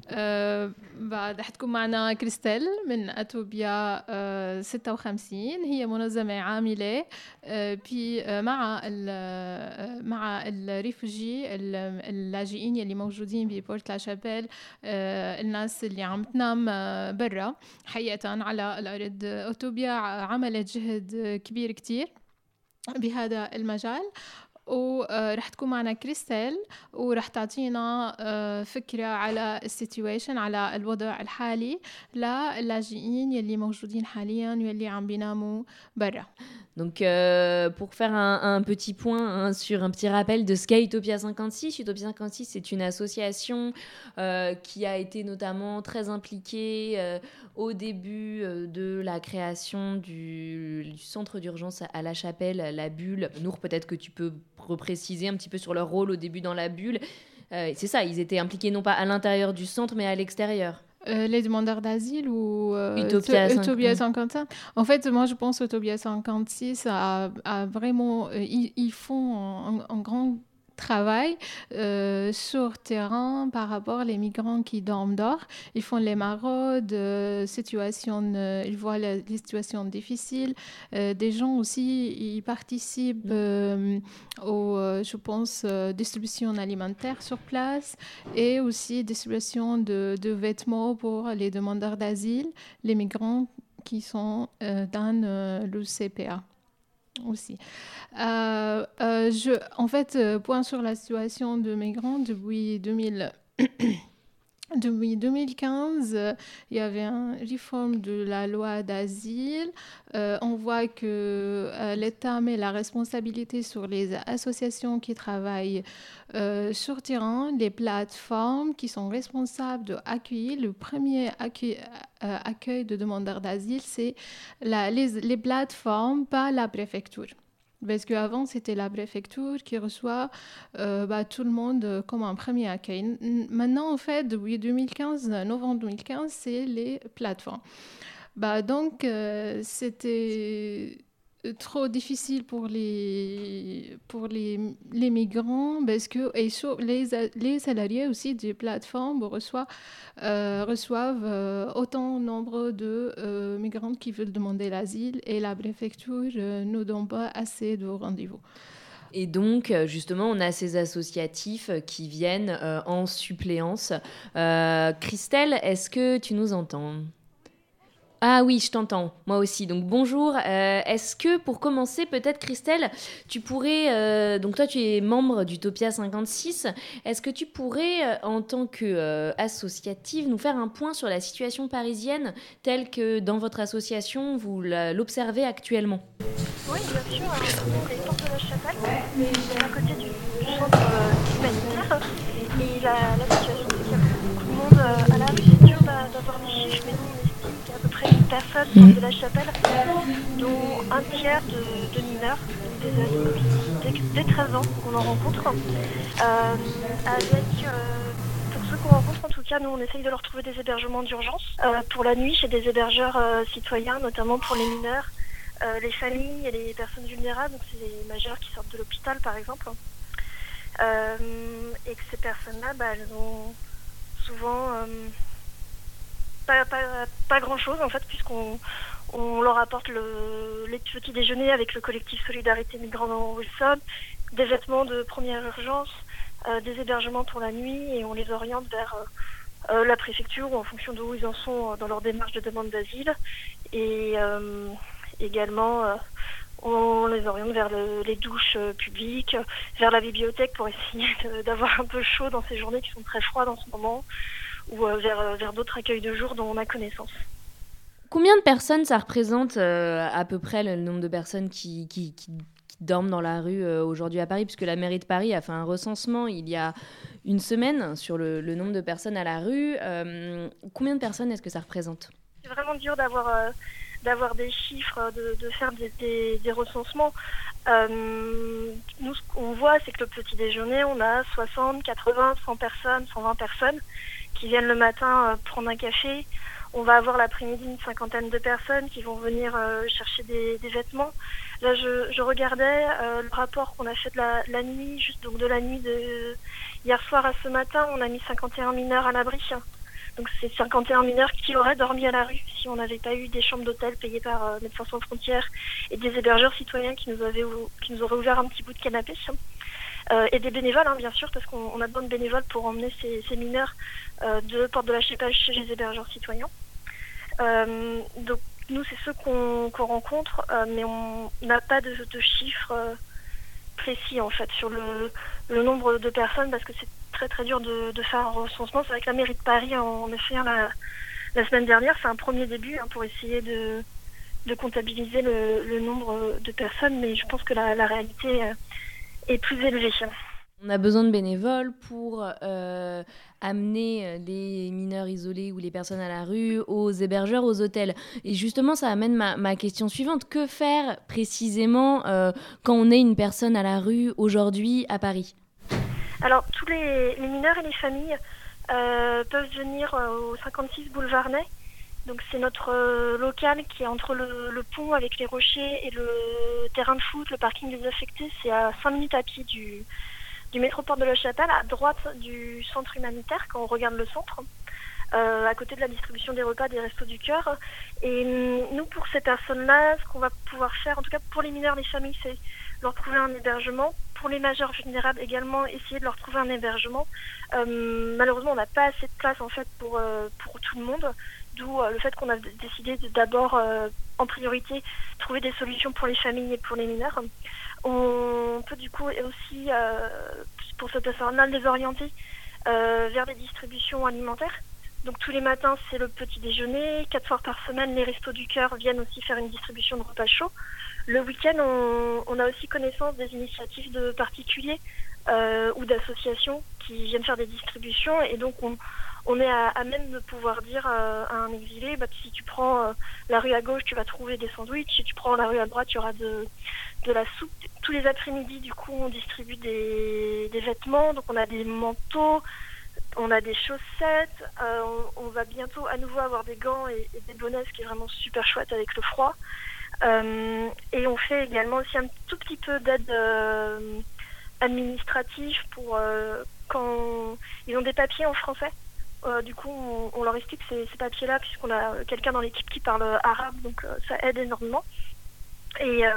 بعد حتكون معنا كريستال من أتوبيا ستة وخمسين. هي منظمة عاملة بي مع ال مع الريفوجي اللاجئين اللي موجودين ببورت لاشابيل، الناس اللي عم تنام برا حقيقة على الأرض. أتوبيا عملت جهد كبير كتير بهذا المجال، ورح تكون معنا كريستال ورح تعطينا فكرة على السيتويشن، على الوضع الحالي للاجئين يلي موجودين حاليا واللي عم بيناموا برا. Donc, euh, pour faire un, un petit point hein, sur un petit rappel de ce qu'est Utopia cinquante-six. Utopia cinquante-six, c'est une association euh, qui a été notamment très impliquée euh, au début euh, de la création du, du centre d'urgence à, à La Chapelle, la Bulle. Nour, peut-être que tu peux repréciser un petit peu sur leur rôle au début dans la Bulle. Euh, c'est ça, ils étaient impliqués non pas à l'intérieur du centre, mais à l'extérieur. Euh, les demandeurs d'asile ou euh, Utopia, Utopia cinquante-cinq. En fait, moi, je pense Utopia cinquante-six a, a vraiment... Euh, ils, ils font un, un grand travail euh, sur terrain par rapport aux migrants qui dorment dehors. Ils font les maraudes, euh, situations, euh, ils voient les, les situations difficiles. Euh, des gens aussi, ils participent euh, aux, euh, je pense, euh, distribution alimentaire sur place et aussi distribution de, de vêtements pour les demandeurs d'asile, les migrants qui sont euh, dans euh, l'U C P A. Aussi. Euh, euh, je, en fait, euh, point sur la situation de migrants depuis deux mille... Depuis deux mille quinze, euh, il y avait une réforme de la loi d'asile. Euh, on voit que euh, l'État met la responsabilité sur les associations qui travaillent euh, sur terrain, les plateformes qui sont responsables d'accueillir. Le premier accueil, euh, accueil de demandeurs d'asile, c'est la, les, les plateformes, pas la préfecture. Parce qu'avant, c'était la préfecture qui reçoit euh, bah, tout le monde comme un premier accueil. Maintenant, en fait, depuis deux mille quinze, novembre deux mille quinze, c'est les plateformes. Bah, donc, euh, c'était trop difficile pour les, pour les, les migrants parce que et sur les, les salariés aussi des plateformes reçoivent, euh, reçoivent euh, autant nombre de euh, migrants qui veulent demander l'asile et la préfecture euh, ne donne pas assez de rendez-vous. Et donc, justement, on a ces associatifs qui viennent euh, en suppléance. Euh, Christelle, est-ce que tu nous entends ? Ah oui, je t'entends, moi aussi. Donc bonjour. Euh, est-ce que pour commencer, peut-être Christelle, tu pourrais, euh, donc toi tu es membre d'Utopia cinquante-six, est-ce que tu pourrais, euh, en tant qu'associative, euh, nous faire un point sur la situation parisienne telle que dans votre association, vous l'observez actuellement? Oui, bien sûr. On est porte de la Chapelle, à côté du, du centre euh, humanitaire. Et la, la situation, c'est qu'il y a beaucoup de monde euh, à la rue. C'est dur d'avoir des chiffres, mais nous, on estime qu'il y a à peu près une personne mmh. de la Chapelle, dont un tiers de, de mineurs, des ados, dès, dès treize ans qu'on en rencontre, euh, avec euh, pour ceux qu'on rencontre, en tout cas, nous, on essaye de leur trouver des hébergements d'urgence. Euh, pour la nuit, chez des hébergeurs euh, citoyens, notamment pour les mineurs, euh, les familles et les personnes vulnérables, donc c'est les majeurs qui sortent de l'hôpital, par exemple. Euh, et que ces personnes-là, bah, elles ont souvent euh, pas, pas, pas grand-chose, en fait, puisqu'on on leur apporte le, les petits déjeuners avec le collectif Solidarité Migrants dans Wilson, des vêtements de première urgence, euh, des hébergements pour la nuit, et on les oriente vers euh, euh, la préfecture ou en fonction de où ils en sont dans leur démarche de demande d'asile. Et euh, également, euh, on les oriente vers le, les douches euh, publiques, vers la bibliothèque pour essayer de, d'avoir un peu chaud dans ces journées qui sont très froides en ce moment, ou euh, vers, vers d'autres accueils de jour dont on a connaissance. Combien de personnes ça représente euh, à peu près le nombre de personnes qui, qui, qui, qui dorment dans la rue euh, aujourd'hui à Paris, puisque la mairie de Paris a fait un recensement il y a une semaine sur le, le nombre de personnes à la rue. Euh, combien de personnes est-ce que ça représente ? C'est vraiment dur d'avoir, euh, d'avoir des chiffres, de, de faire des, des, des recensements. Euh, nous, ce qu'on voit, c'est que le petit déjeuner, on a soixante, quatre-vingts, cent personnes, cent vingt personnes qui viennent le matin euh, prendre un café. On va avoir l'après-midi une cinquantaine de personnes qui vont venir euh, chercher des, des vêtements. Là, je, je regardais euh, le rapport qu'on a fait de la, la nuit, juste donc de la nuit de hier soir à ce matin, on a mis cinquante et un mineurs à l'abri. Donc c'est cinquante et un mineurs qui auraient dormi à la rue si on n'avait pas eu des chambres d'hôtel payées par euh, Médecins sans frontières et des hébergeurs citoyens qui nous avaient qui nous auraient ouvert un petit bout de canapé. Euh, et des bénévoles, hein, bien sûr, parce qu'on on a besoin de bénévoles pour emmener ces, ces mineurs euh, de Porte de la Chapelle chez les hébergeurs citoyens. Euh, donc nous c'est ceux qu'on, qu'on rencontre, euh, mais on n'a pas de, de chiffres euh, précis en fait sur le, le nombre de personnes, parce que c'est très très dur de, de faire un recensement. C'est vrai que la mairie de Paris en a fait un la, la semaine dernière, c'est un premier début hein, pour essayer de, de comptabiliser le, le nombre de personnes, mais je pense que la, la réalité euh, est plus élevée. On a besoin de bénévoles pour euh, amener les mineurs isolés ou les personnes à la rue aux hébergeurs, aux hôtels. Et justement, ça amène ma, ma question suivante. Que faire précisément euh, quand on est une personne à la rue aujourd'hui à Paris ? Alors, tous les, les mineurs et les familles euh, peuvent venir euh, au cinquante-six boulevard Ney. Donc, c'est notre euh, local qui est entre le, le pont avec les rochers et le terrain de foot, le parking désaffecté. C'est à cinq minutes à pied du... du métro Porte de la Chapelle, à droite du centre humanitaire, quand on regarde le centre, euh, à côté de la distribution des repas des Restos du Cœur. Et nous, pour ces personnes-là, ce qu'on va pouvoir faire, en tout cas pour les mineurs, les familles, c'est leur trouver un hébergement. Pour les majeurs vulnérables également, essayer de leur trouver un hébergement. Euh, malheureusement, on n'a pas assez de place en fait pour, euh, pour tout le monde, d'où euh, le fait qu'on a décidé de d'abord, euh, en priorité, trouver des solutions pour les familles et pour les mineurs. On peut du coup aussi, euh, pour cette personne-là, les orienter euh, vers des distributions alimentaires. Donc tous les matins, c'est le petit déjeuner. Quatre fois par semaine, les Restos du Cœur viennent aussi faire une distribution de repas chauds. Le week-end, on, on a aussi connaissance des initiatives de particuliers euh, ou d'associations qui viennent faire des distributions. Et donc, on, on est à, à même de pouvoir dire euh, à un exilé, bah, si tu prends euh, la rue à gauche, tu vas trouver des sandwichs. Si tu prends la rue à droite, il y aura de, de la soupe. Tous les après-midi, du coup, on distribue des, des vêtements. Donc, on a des manteaux, on a des chaussettes. Euh, on, on va bientôt à nouveau avoir des gants et, et des bonnets, ce qui est vraiment super chouette avec le froid. Euh, et on fait également aussi un tout petit peu d'aide euh, administrative pour euh, quand ils ont des papiers en français. Euh, du coup, on, on leur explique ces, ces papiers-là, puisqu'on a quelqu'un dans l'équipe qui parle arabe, donc euh, ça aide énormément. Et euh,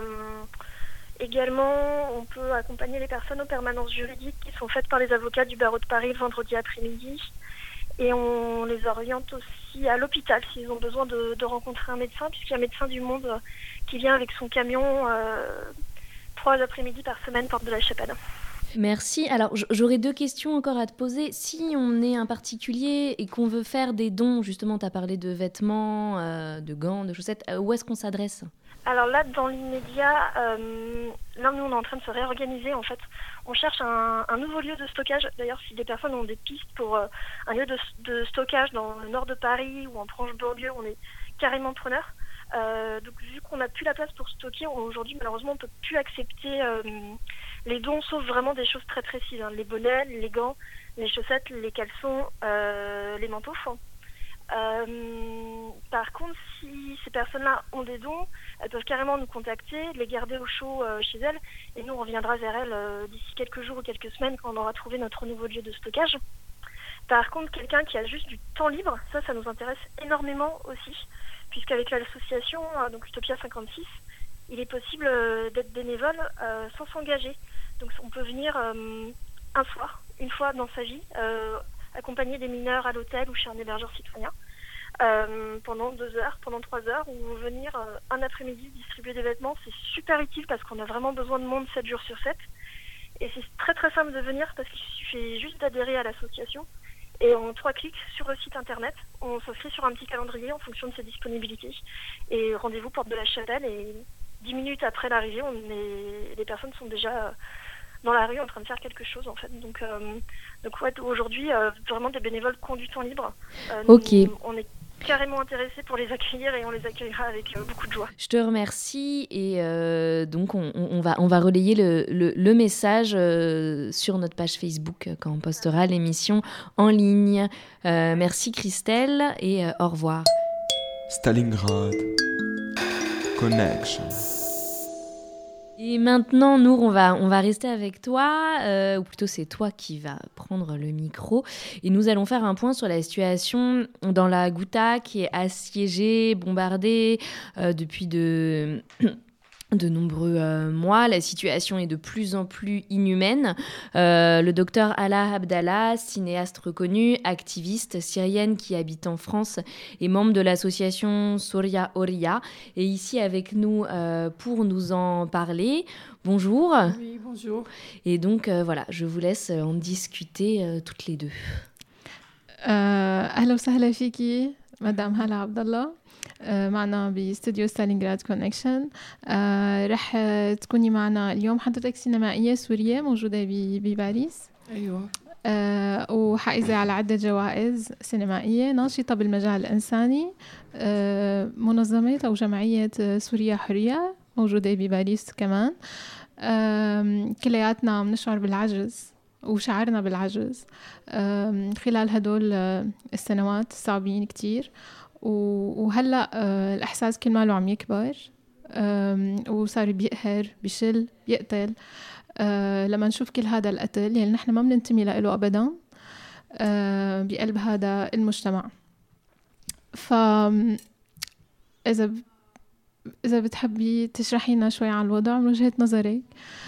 également, on peut accompagner les personnes aux permanences juridiques qui sont faites par les avocats du barreau de Paris le vendredi après-midi. Et on les oriente aussi à l'hôpital s'ils ont besoin de, de rencontrer un médecin, puisqu'il y a un médecin du monde qui vient avec son camion euh, trois après-midi par semaine, Porte de la Chapelle. Merci. Alors, j'aurais deux questions encore à te poser. Si on est un particulier et qu'on veut faire des dons, justement, tu as parlé de vêtements, euh, de gants, de chaussettes, euh, où est-ce qu'on s'adresse ? Alors là, dans l'immédiat, euh, là, nous, on est en train de se réorganiser, en fait. On cherche un, un nouveau lieu de stockage. D'ailleurs, si des personnes ont des pistes pour euh, un lieu de, de stockage dans le nord de Paris ou en Proche-Banlieue, on est carrément preneurs. Euh, donc vu qu'on n'a plus la place pour stocker, aujourd'hui malheureusement on ne peut plus accepter euh, les dons sauf vraiment des choses très précises, hein, les bonnets, les gants, les chaussettes, les caleçons, euh, les manteaux. Euh, par contre, si ces personnes-là ont des dons, elles peuvent carrément nous contacter, les garder au chaud euh, chez elles, et nous on reviendra vers elles euh, d'ici quelques jours ou quelques semaines quand on aura trouvé notre nouveau lieu de stockage. Par contre, quelqu'un qui a juste du temps libre, ça, ça nous intéresse énormément aussi, puisqu'avec l'association, euh, donc Utopia cinquante-six, il est possible euh, d'être bénévole euh, sans s'engager. Donc on peut venir euh, un soir, une fois dans sa vie, euh, accompagner des mineurs à l'hôtel ou chez un hébergeur citoyen euh, pendant deux heures, pendant trois heures, ou venir euh, un après-midi distribuer des vêtements. C'est super utile parce qu'on a vraiment besoin de monde sept jours sur sept. Et c'est très très simple de venir parce qu'il suffit juste d'adhérer à l'association. Et en trois clics sur le site internet, on s'inscrit sur un petit calendrier en fonction de ses disponibilités. Et rendez-vous porte de la Chapelle. Et dix minutes après l'arrivée, on est... les personnes sont déjà dans la rue en train de faire quelque chose en fait. Donc, euh, donc ouais, aujourd'hui, euh, vraiment des bénévoles qui ont du temps libre. Euh, Ok. nous, on est carrément intéressés pour les accueillir et on les accueillera avec euh, beaucoup de joie. Je te remercie et euh, donc on, on, va, on va relayer le, le, le message euh, sur notre page Facebook euh, quand on postera l'émission en ligne. Euh, merci Christelle et euh, au revoir. Stalingrad Connection. Et maintenant, Nour, on va, on va rester avec toi, euh, ou plutôt c'est toi qui vas prendre le micro. Et nous allons faire un point sur la situation dans la Ghouta qui est assiégée, bombardée euh, depuis de... de nombreux euh, mois. La situation est de plus en plus inhumaine. Euh, le docteur Alaa Abdallah, cinéaste reconnu, activiste syrienne qui habite en France et membre de l'association Soria Oria, est ici avec nous euh, pour nous en parler. Bonjour. Oui, bonjour. Et donc, euh, voilà, je vous laisse en discuter euh, toutes les deux. أهلا وسهلا فيكي مدام هلا عبد الله. معنا باستوديو ستالينغراد كونكشن. رح تكوني معنا اليوم حضرتك سينمائية سورية موجودة بباريس. أيوة. أه وحائزة على عدة جوائز سينمائية، ناشطة بالمجال الإنساني، أه منظمة أو جمعية سوريا حرية موجودة بباريس كمان. أه كلياتنا عم نشعر بالعجز وشعرنا بالعجز أه خلال هدول السنوات الصعبين كتير، وهلأ الإحساس كل ماله عم يكبر وصار بيقهر بيشل بيقتل. لما نشوف كل هذا القتل يعني نحن ما بننتمي له أبدا بقلب هذا المجتمع. فإذا إذا بتحبي تشرحي لنا شوي عن الوضع من وجهة نظرك،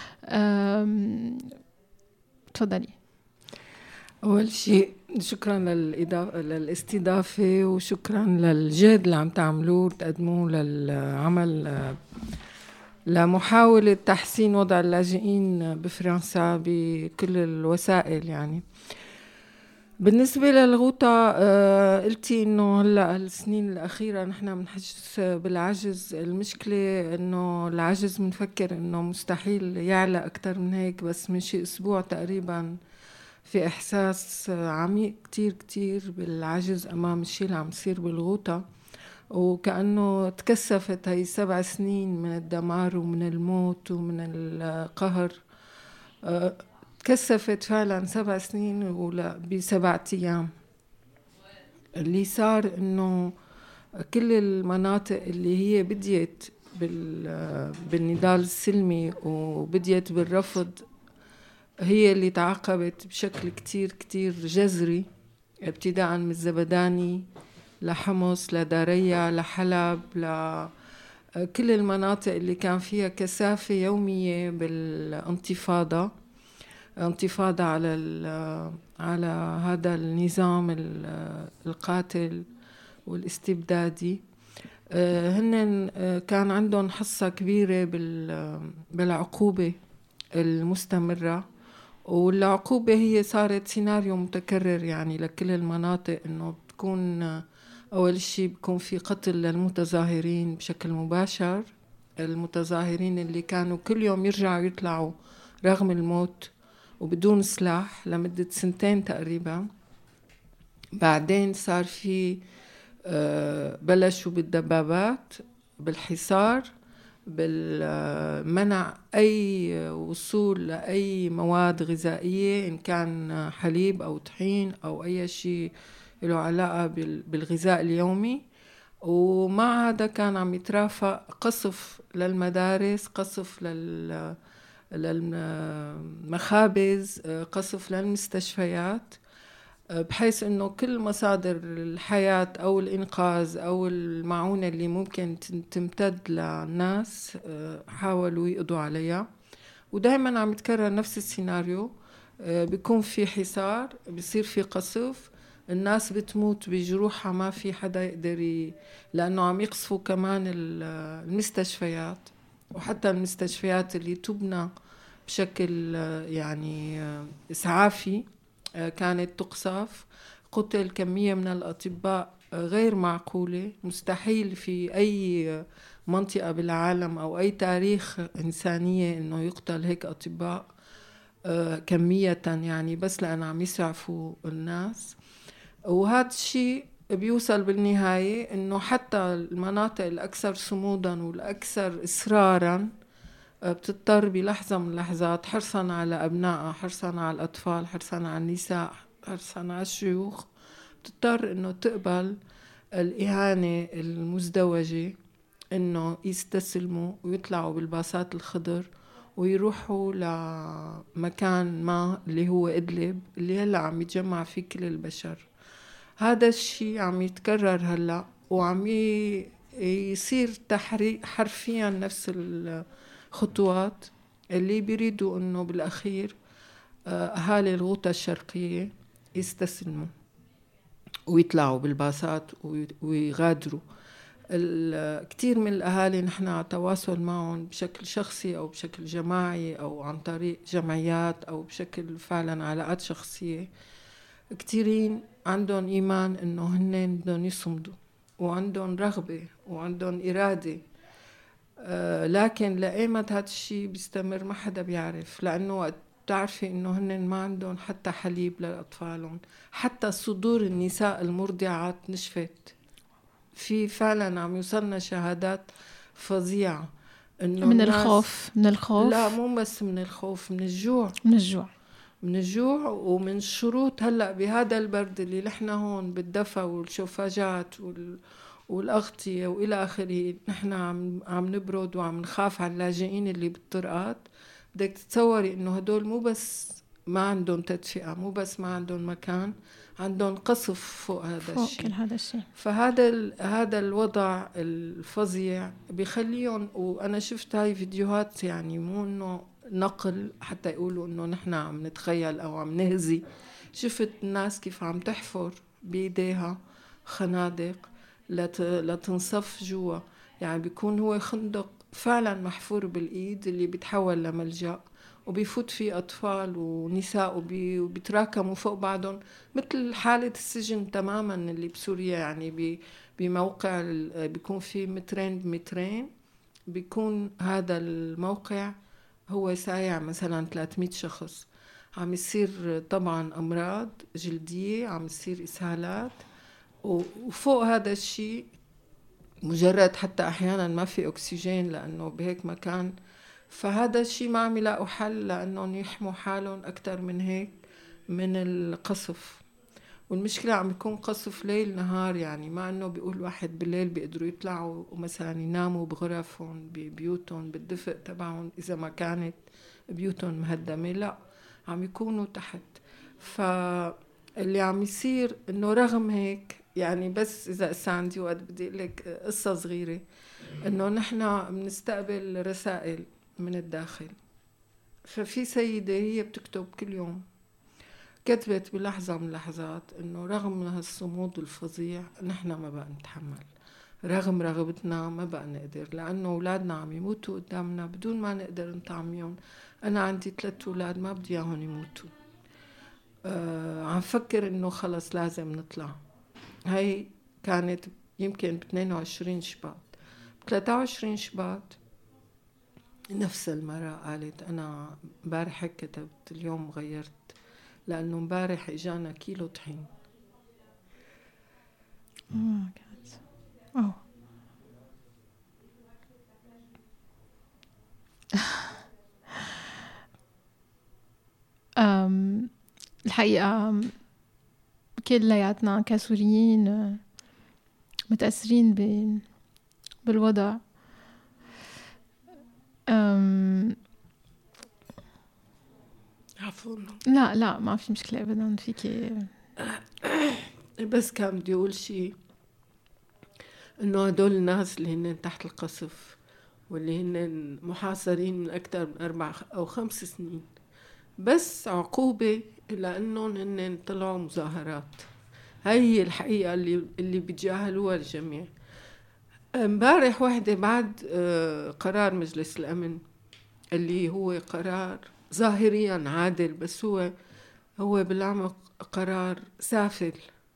تفضلي. أول شيء شكرا للإضافة للاستضافة وشكرا للجهد اللي عم تعملوه وتقدموه للعمل لمحاولة تحسين وضع اللاجئين بفرنسا بكل الوسائل. يعني بالنسبة للغوطة آه قلتي إنه هلأ السنين الأخيرة نحن بنحس بالعجز. المشكلة إنه العجز بنفكر إنه مستحيل يعلى أكتر من هيك، بس من شي أسبوع تقريبا في إحساس عميق كتير كتير بالعجز أمام الشيء اللي عم يصير بالغوطة، وكأنه تكثفت هاي سبع سنين من الدمار ومن الموت ومن القهر. أه تكثفت فعلا سبع سنين ولا بسبعة أيام. اللي صار إنه كل المناطق اللي هي بديت بالنضال السلمي وبديت بالرفض هي اللي تعاقبت بشكل كتير كتير جذري، ابتداء من الزبداني لحمص لداريا لحلب لكل المناطق اللي كان فيها كثافة يومية بالانتفاضة، انتفاضة على على هذا النظام القاتل والاستبدادي. هن كان عندهم حصة كبيرة بالعقوبة المستمرة، والعقوبة هي صارت سيناريو متكرر يعني لكل المناطق، إنه بتكون أول شيء بيكون في قتل للمتظاهرين بشكل مباشر، المتظاهرين اللي كانوا كل يوم يرجعوا يطلعوا رغم الموت وبدون سلاح لمدة سنتين تقريبا. بعدين صار في بلشوا بالدبابات بالحصار، بالمنع أي وصول لأي مواد غذائية إن كان حليب أو طحين أو أي شيء له علاقة بالغذاء اليومي. ومع هذا كان عم يترافق قصف للمدارس، قصف لل للمخابز، قصف للمستشفيات، بحيث انه كل مصادر الحياة او الانقاذ او المعونة اللي ممكن تمتد للناس حاولوا يقضوا عليها. ودائما عم يتكرر نفس السيناريو، بيكون في حصار، بيصير في قصف، الناس بتموت بجروحها، ما في حدا يقدر ي... لانه عم يقصفوا كمان المستشفيات، وحتى المستشفيات اللي تبنى بشكل يعني إسعافي كانت تقصف. قتل كمية من الأطباء غير معقولة، مستحيل في أي منطقة بالعالم أو أي تاريخ إنسانية إنه يقتل هيك أطباء كمية، يعني بس لأن عم يسعفوا الناس. وهذا الشيء بيوصل بالنهاية إنه حتى المناطق الأكثر صمودا والأكثر إصرارا بتضطر بلحظة من اللحظات، حرصا على أبنائها، حرصا على الأطفال، حرصا على النساء، حرصا على الشيوخ، بتضطر إنه تقبل الإهانة المزدوجة، إنه يستسلموا ويطلعوا بالباصات الخضر ويروحوا لمكان ما اللي هو إدلب اللي هلأ عم يتجمع فيه كل البشر. هذا الشيء عم يتكرر هلأ، وعم يصير تحريك حرفيا نفس الخطوات اللي بيريدوا إنه بالأخير أهالي الغوطة الشرقية يستسلموا ويطلعوا بالباصات ويغادروا. كتير من الأهالي نحن على تواصل معهم بشكل شخصي أو بشكل جماعي أو عن طريق جمعيات أو بشكل فعلا علاقات شخصية، كتيرين عندهم إيمان إنه هنن بدهم يصمدوا وعندهم رغبة وعندهم إرادة، آه لكن لأيمت هذا الشيء بيستمر ما حدا بيعرف، لأنه وقت بتعرفي إنه هنن ما عندهم حتى حليب لأطفالهم، حتى صدور النساء المرضعات نشفت. في فعلا عم يوصلنا شهادات فظيعة إنه من الخوف من الخوف لا مو بس من الخوف، من الجوع من الجوع من الجوع ومن الشروط. هلأ بهذا البرد اللي نحن هون بالدفا والشوفاجات وال والأغطية وإلى آخره، نحن عم عم نبرد وعم نخاف على اللاجئين اللي بالطرقات. بدك تتصوري إنه هدول مو بس ما عندهم تدفئة، مو بس ما عندهم مكان، عندهم قصف فوق هذا فوق الشيء. كل هذا الشيء. فهذا هذا الوضع الفظيع بيخليهم، وأنا شفت هاي فيديوهات يعني مو إنه نقل حتى يقولوا إنه نحن عم نتخيل أو عم نهزي. شفت الناس كيف عم تحفر بيديها خنادق لت... لتنصف جوا، يعني بيكون هو خندق فعلا محفور بالإيد اللي بيتحول لملجأ، وبيفوت فيه أطفال ونساء وبي... وبيتراكموا فوق بعضهم مثل حالة السجن تماما اللي بسوريا. يعني بي... بموقع ال... بيكون فيه مترين بمترين، بيكون هذا الموقع هو سايع مثلا ثلاثمية شخص. عم يصير طبعا أمراض جلدية، عم يصير إسهالات، وفوق هذا الشيء مجرد حتى أحيانا ما في أكسجين لأنه بهيك مكان. فهذا الشيء ما عم يلاقوا حل لأنهم يحموا حالهم أكتر من هيك من القصف. والمشكلة عم يكون قصف ليل نهار، يعني ما أنه بيقول واحد بالليل بيقدروا يطلعوا ومثلا يناموا بغرفهم ببيوتهم بالدفء تبعهم إذا ما كانت بيوتهم مهدمة، لا عم يكونوا تحت. فاللي عم يصير إنه رغم هيك، يعني بس إذا إسا عندي وقت بدي لك قصة صغيرة، إنه نحنا بنستقبل رسائل من الداخل. ففي سيدة هي بتكتب كل يوم، كتبت بلحظة من اللحظات إنه رغم هالصمود الفظيع نحنا ما بقى نتحمل، رغم رغبتنا ما بقى نقدر، لأنه أولادنا عم يموتوا قدامنا بدون ما نقدر نطعميهم. أنا عندي ثلاث أولاد ما بدي إياهم يموتوا. آه عم فكر إنه خلص لازم نطلع. هاي كانت يمكن ب اثنين وعشرين شباط. ب ثلاثة وعشرين شباط نفس المرأة قالت أنا مبارح كتبت اليوم غيرت، لأنه مبارح إجانا كيلو طحين. oh my God. oh. حقيقة كلياتنا كسوريين متأثرين ب... بالوضع. أم... عفوا لا لا ما في مشكلة أبدا فيكي. بس كان بدي أقول شيء، إنه هدول الناس اللي هن تحت القصف واللي هن محاصرين من أكثر من أربع أو خمس سنين بس عقوبة لأنهم هن طلعوا مظاهرات. هاي هي الحقيقة اللي اللي بيتجاهلوها الجميع. امبارح واحدة بعد قرار مجلس الأمن اللي هو قرار ظاهريا عادل بس هو هو بالعمق قرار سافل،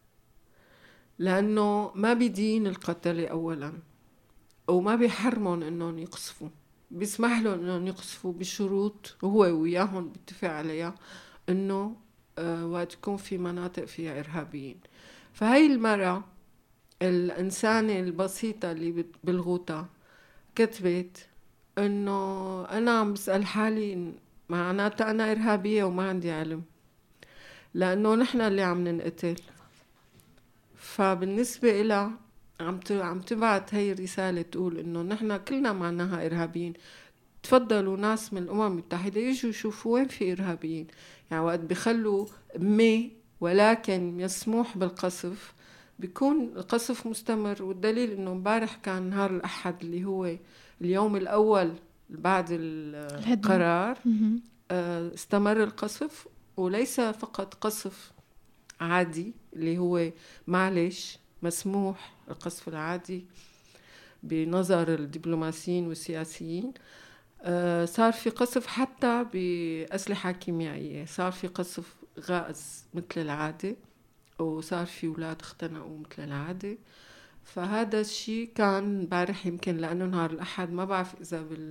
لأنه ما بيدين القتلة أولا وما بيحرمون إنهم يقصفوا، بيسمح لهم إنهم يقصفوا بشروط هو وياهم بيتفق عليها، إنه آه وقت يكون في مناطق فيها إرهابيين. فهاي المرة الإنسانة البسيطة اللي بالغوطة كتبت إنه أنا عم بسأل حالي معناتها أنا إرهابية وما عندي علم، لأنه نحن اللي عم ننقتل. فبالنسبة إلها عم عم تبعت هاي الرسالة تقول إنه نحن كلنا معناها إرهابيين، تفضلوا ناس من الأمم المتحدة يجوا يشوفوا وين في إرهابيين. يعني وقت بيخلوا مي ولكن مسموح بالقصف بيكون القصف مستمر. والدليل إنه مبارح كان نهار الأحد اللي هو اليوم الأول بعد القرار استمر القصف، وليس فقط قصف عادي اللي هو معلش مسموح القصف العادي بنظر الدبلوماسيين والسياسيين، صار في قصف حتى بأسلحة كيميائية، صار في قصف غاز مثل العادة، وصار في أولاد اختنقوا مثل العادة. فهذا الشيء كان امبارح يمكن لأنه نهار الأحد، ما بعرف إذا بال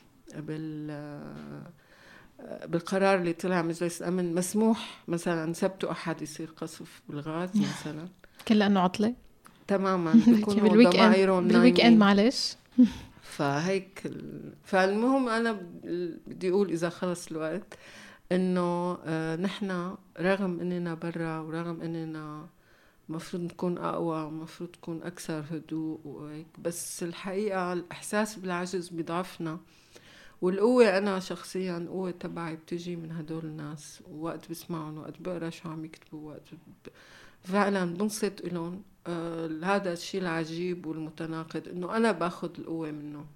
بال بالقرار اللي طلع مجلس الأمن مسموح مثلا سبت وأحد يصير قصف بالغاز مثلا، كل لأنه عطلة تماما بيكونوا ضمائرهم بالويك اند معلش. فهيك فالمهم أنا بدي أقول إذا خلص الوقت إنه آه نحن رغم إننا برا ورغم إننا مفروض نكون أقوى مفروض نكون أكثر هدوء وهيك، بس الحقيقة الإحساس بالعجز بيضعفنا. والقوة أنا شخصياً القوة تبعي بتجي من هدول الناس، ووقت بسمعهم وقت بقرأ شو عم يكتبوا وقت ب... فعلاً بنصت إلهم. آه هذا الشيء العجيب والمتناقض إنه أنا باخد القوة منه.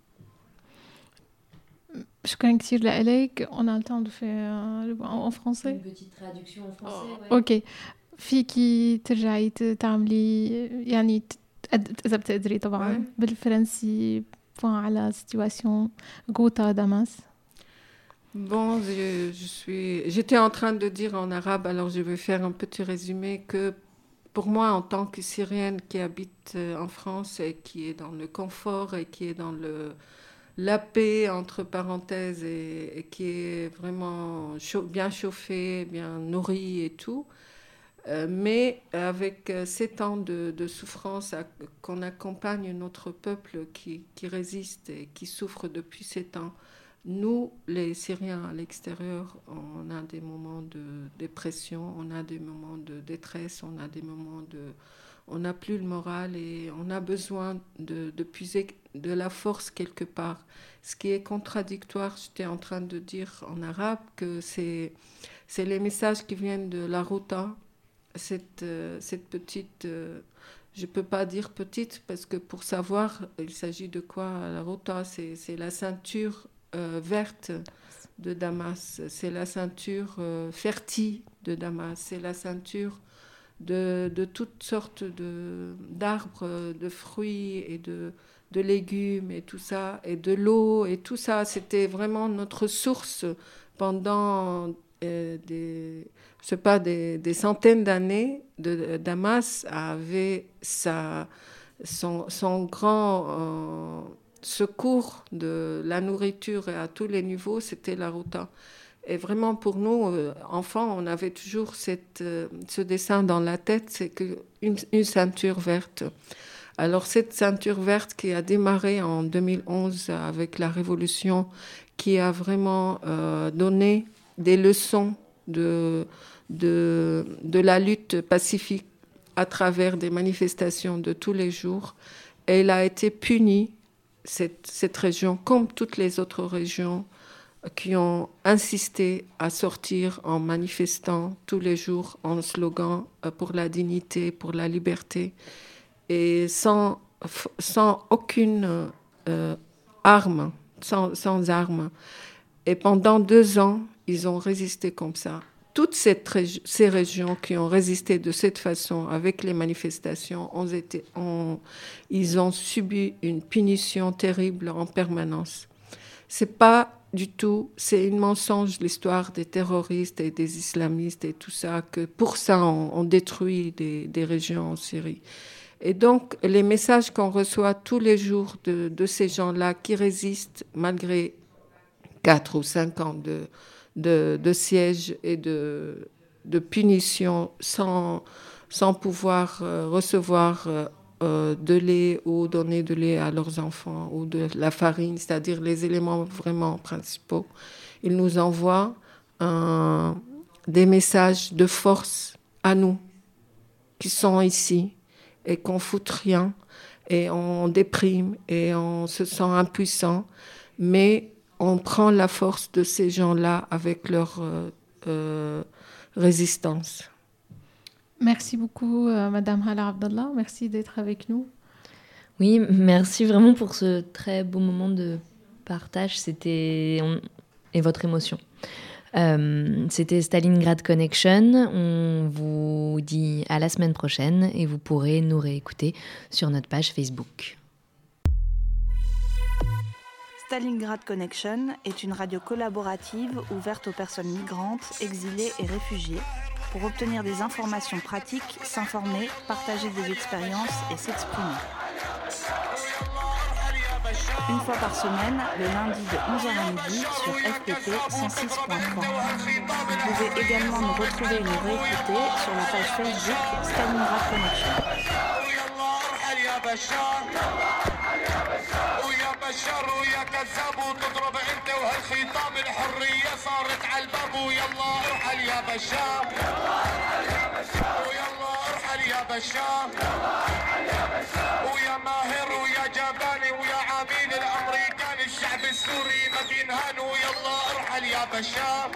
شكرا كثير لإليك. On a le temps de faire en français. Une petite traduction en français. oh. ouais. Ok. فيكي ترجعي تعملي يعني إذا بتقدري طبعاً ouais. بالفرنسي على situation Ghouta Damas. Bon, je, je suis, j'étais en train de dire en arabe, alors je vais faire un petit résumé que pour moi, en tant que Syrienne qui habite en France et qui est dans le confort et qui est dans le, la paix, entre parenthèses, et, et qui est vraiment chaud, bien chauffée, bien nourrie et tout, euh, mais avec euh, sept ans de, de souffrance à, qu'on accompagne notre peuple qui, qui résiste et qui souffre depuis sept ans. Nous, les Syriens à l'extérieur, on a des moments de dépression, on a des moments de détresse, on a des moments de... On n'a plus le moral et on a besoin de, de puiser de la force quelque part. Ce qui est contradictoire, j'étais en train de dire en arabe que c'est, c'est les messages qui viennent de la Ghouta, cette, euh, cette petite... Euh, je ne peux pas dire petite parce que pour savoir, il s'agit de quoi la Ghouta, c'est, c'est la ceinture euh, verte de Damas, c'est la ceinture euh, fertile de Damas, c'est la ceinture de, de toutes sortes de, d'arbres, de fruits et de, de légumes et tout ça, et de l'eau et tout ça. C'était vraiment notre source pendant euh, des, je sais pas, des, des centaines d'années. De, Damas avait sa, son, son grand euh, secours de la nourriture à tous les niveaux, c'était la Ghouta. Et vraiment, pour nous, euh, enfants, on avait toujours cette, euh, ce dessin dans la tête, c'est que une, une ceinture verte. Alors, cette ceinture verte qui a démarré en deux mille onze avec la révolution, qui a vraiment euh, donné des leçons de, de, de la lutte pacifique à travers des manifestations de tous les jours. Et elle a été punie, cette, cette région, comme toutes les autres régions qui ont insisté à sortir en manifestant tous les jours en slogan pour la dignité, pour la liberté, et sans, sans aucune euh, arme, sans, sans arme. Et pendant deux ans, ils ont résisté comme ça. Toutes cette régi- ces régions qui ont résisté de cette façon avec les manifestations, ont été, ont, ils ont subi une punition terrible en permanence. C'est pas du tout, c'est une mensonge l'histoire des terroristes et des islamistes et tout ça, que pour ça on, on détruit des, des régions en Syrie. Et donc les messages qu'on reçoit tous les jours de, de ces gens-là qui résistent malgré quatre ou cinq ans de, de, de siège et de, de punition sans, sans pouvoir euh, recevoir euh, Euh, de lait ou donner de lait à leurs enfants ou de la farine, c'est-à-dire les éléments vraiment principaux. Ils nous envoient un, des messages de force à nous qui sont ici et qu'on fout rien et on déprime et on se sent impuissant, mais on prend la force de ces gens-là avec leur euh, euh, résistance. Merci beaucoup, euh, Madame Hala Abdallah. Merci d'être avec nous. Oui, merci vraiment pour ce très beau moment de partage. C'était on... et votre émotion. Euh, c'était Stalingrad Connection. On vous dit à la semaine prochaine et vous pourrez nous réécouter sur notre page Facebook. Stalingrad Connection est une radio collaborative ouverte aux personnes migrantes, exilées et réfugiées pour obtenir des informations pratiques, s'informer, partager des expériences et s'exprimer. Une fois par semaine, le lundi de onze heures à midi sur F P P cent six point trois. Vous pouvez également nous retrouver et nous réécouter sur la page Facebook Stalingrad Connection. بشر ويا كذاب وتضرب انت وهالخيطان الحريه صارت على الباب ويلا ارحل يا بشار ويلا ارحل يا بشار ويا ماهر ويا جباني ويا عميل الامريكان الشعب السوري ما بينهان ويلا ارحل يا بشار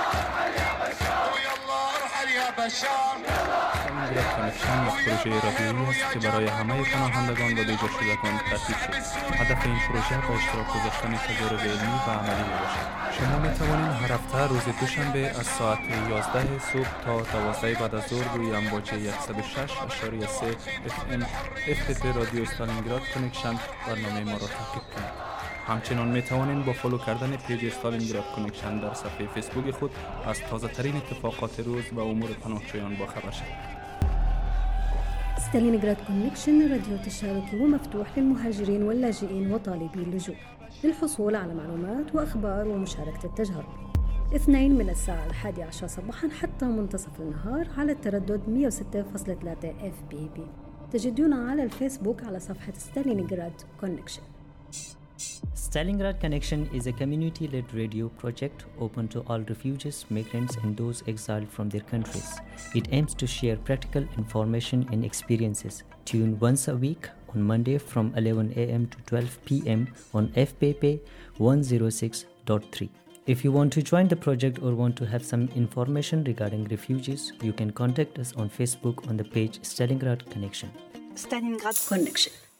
ويلا ارحل يا بشار. Stalingrad Connection یک پروژه رادیویی است که برای همه پناهندگان و بیجا شدگان ترتیب شد. هدف این پروژه با اشتراک گذاشتن تجارب علمی و عملی باشد. شما می توانید هر هفته روز دوشنبه از ساعت یازده صبح تا دوازده بعد از ظهر روی امواج صد و شش ممیز سه اف ام اف تی تی رادیو استالینگراد کانکشن برنامه ما را تعقیب کنید. همچنین می توانید با فالو کردن پیج استالینگراد کانکشن در صفحه فیسبوک خود از تازه ترین اتفاقات روز و امور پناهجویان باخبر شوید. ستالينغراد كونكشن راديو تشاركي ومفتوح للمهاجرين واللاجئين وطالبي اللجوء للحصول على معلومات وأخبار ومشاركة التجارب. اثنين من الساعة الحادية عشر صباحا حتى منتصف النهار على التردد مئة وستة فاصلة ثلاثة اف بي بي. تجدونا على الفيسبوك على صفحة ستالينغراد كونكشن. Stalingrad Connection is a community-led radio project open to all refugees, migrants and those exiled from their countries. It aims to share practical information and experiences. Tune once a week on Monday from eleven a.m. to twelve p.m. on F P P one oh six point three. If you want to join the project or want to have some information regarding refugees, you can contact us on Facebook on the page Stalingrad Connection. Stalingrad Connection.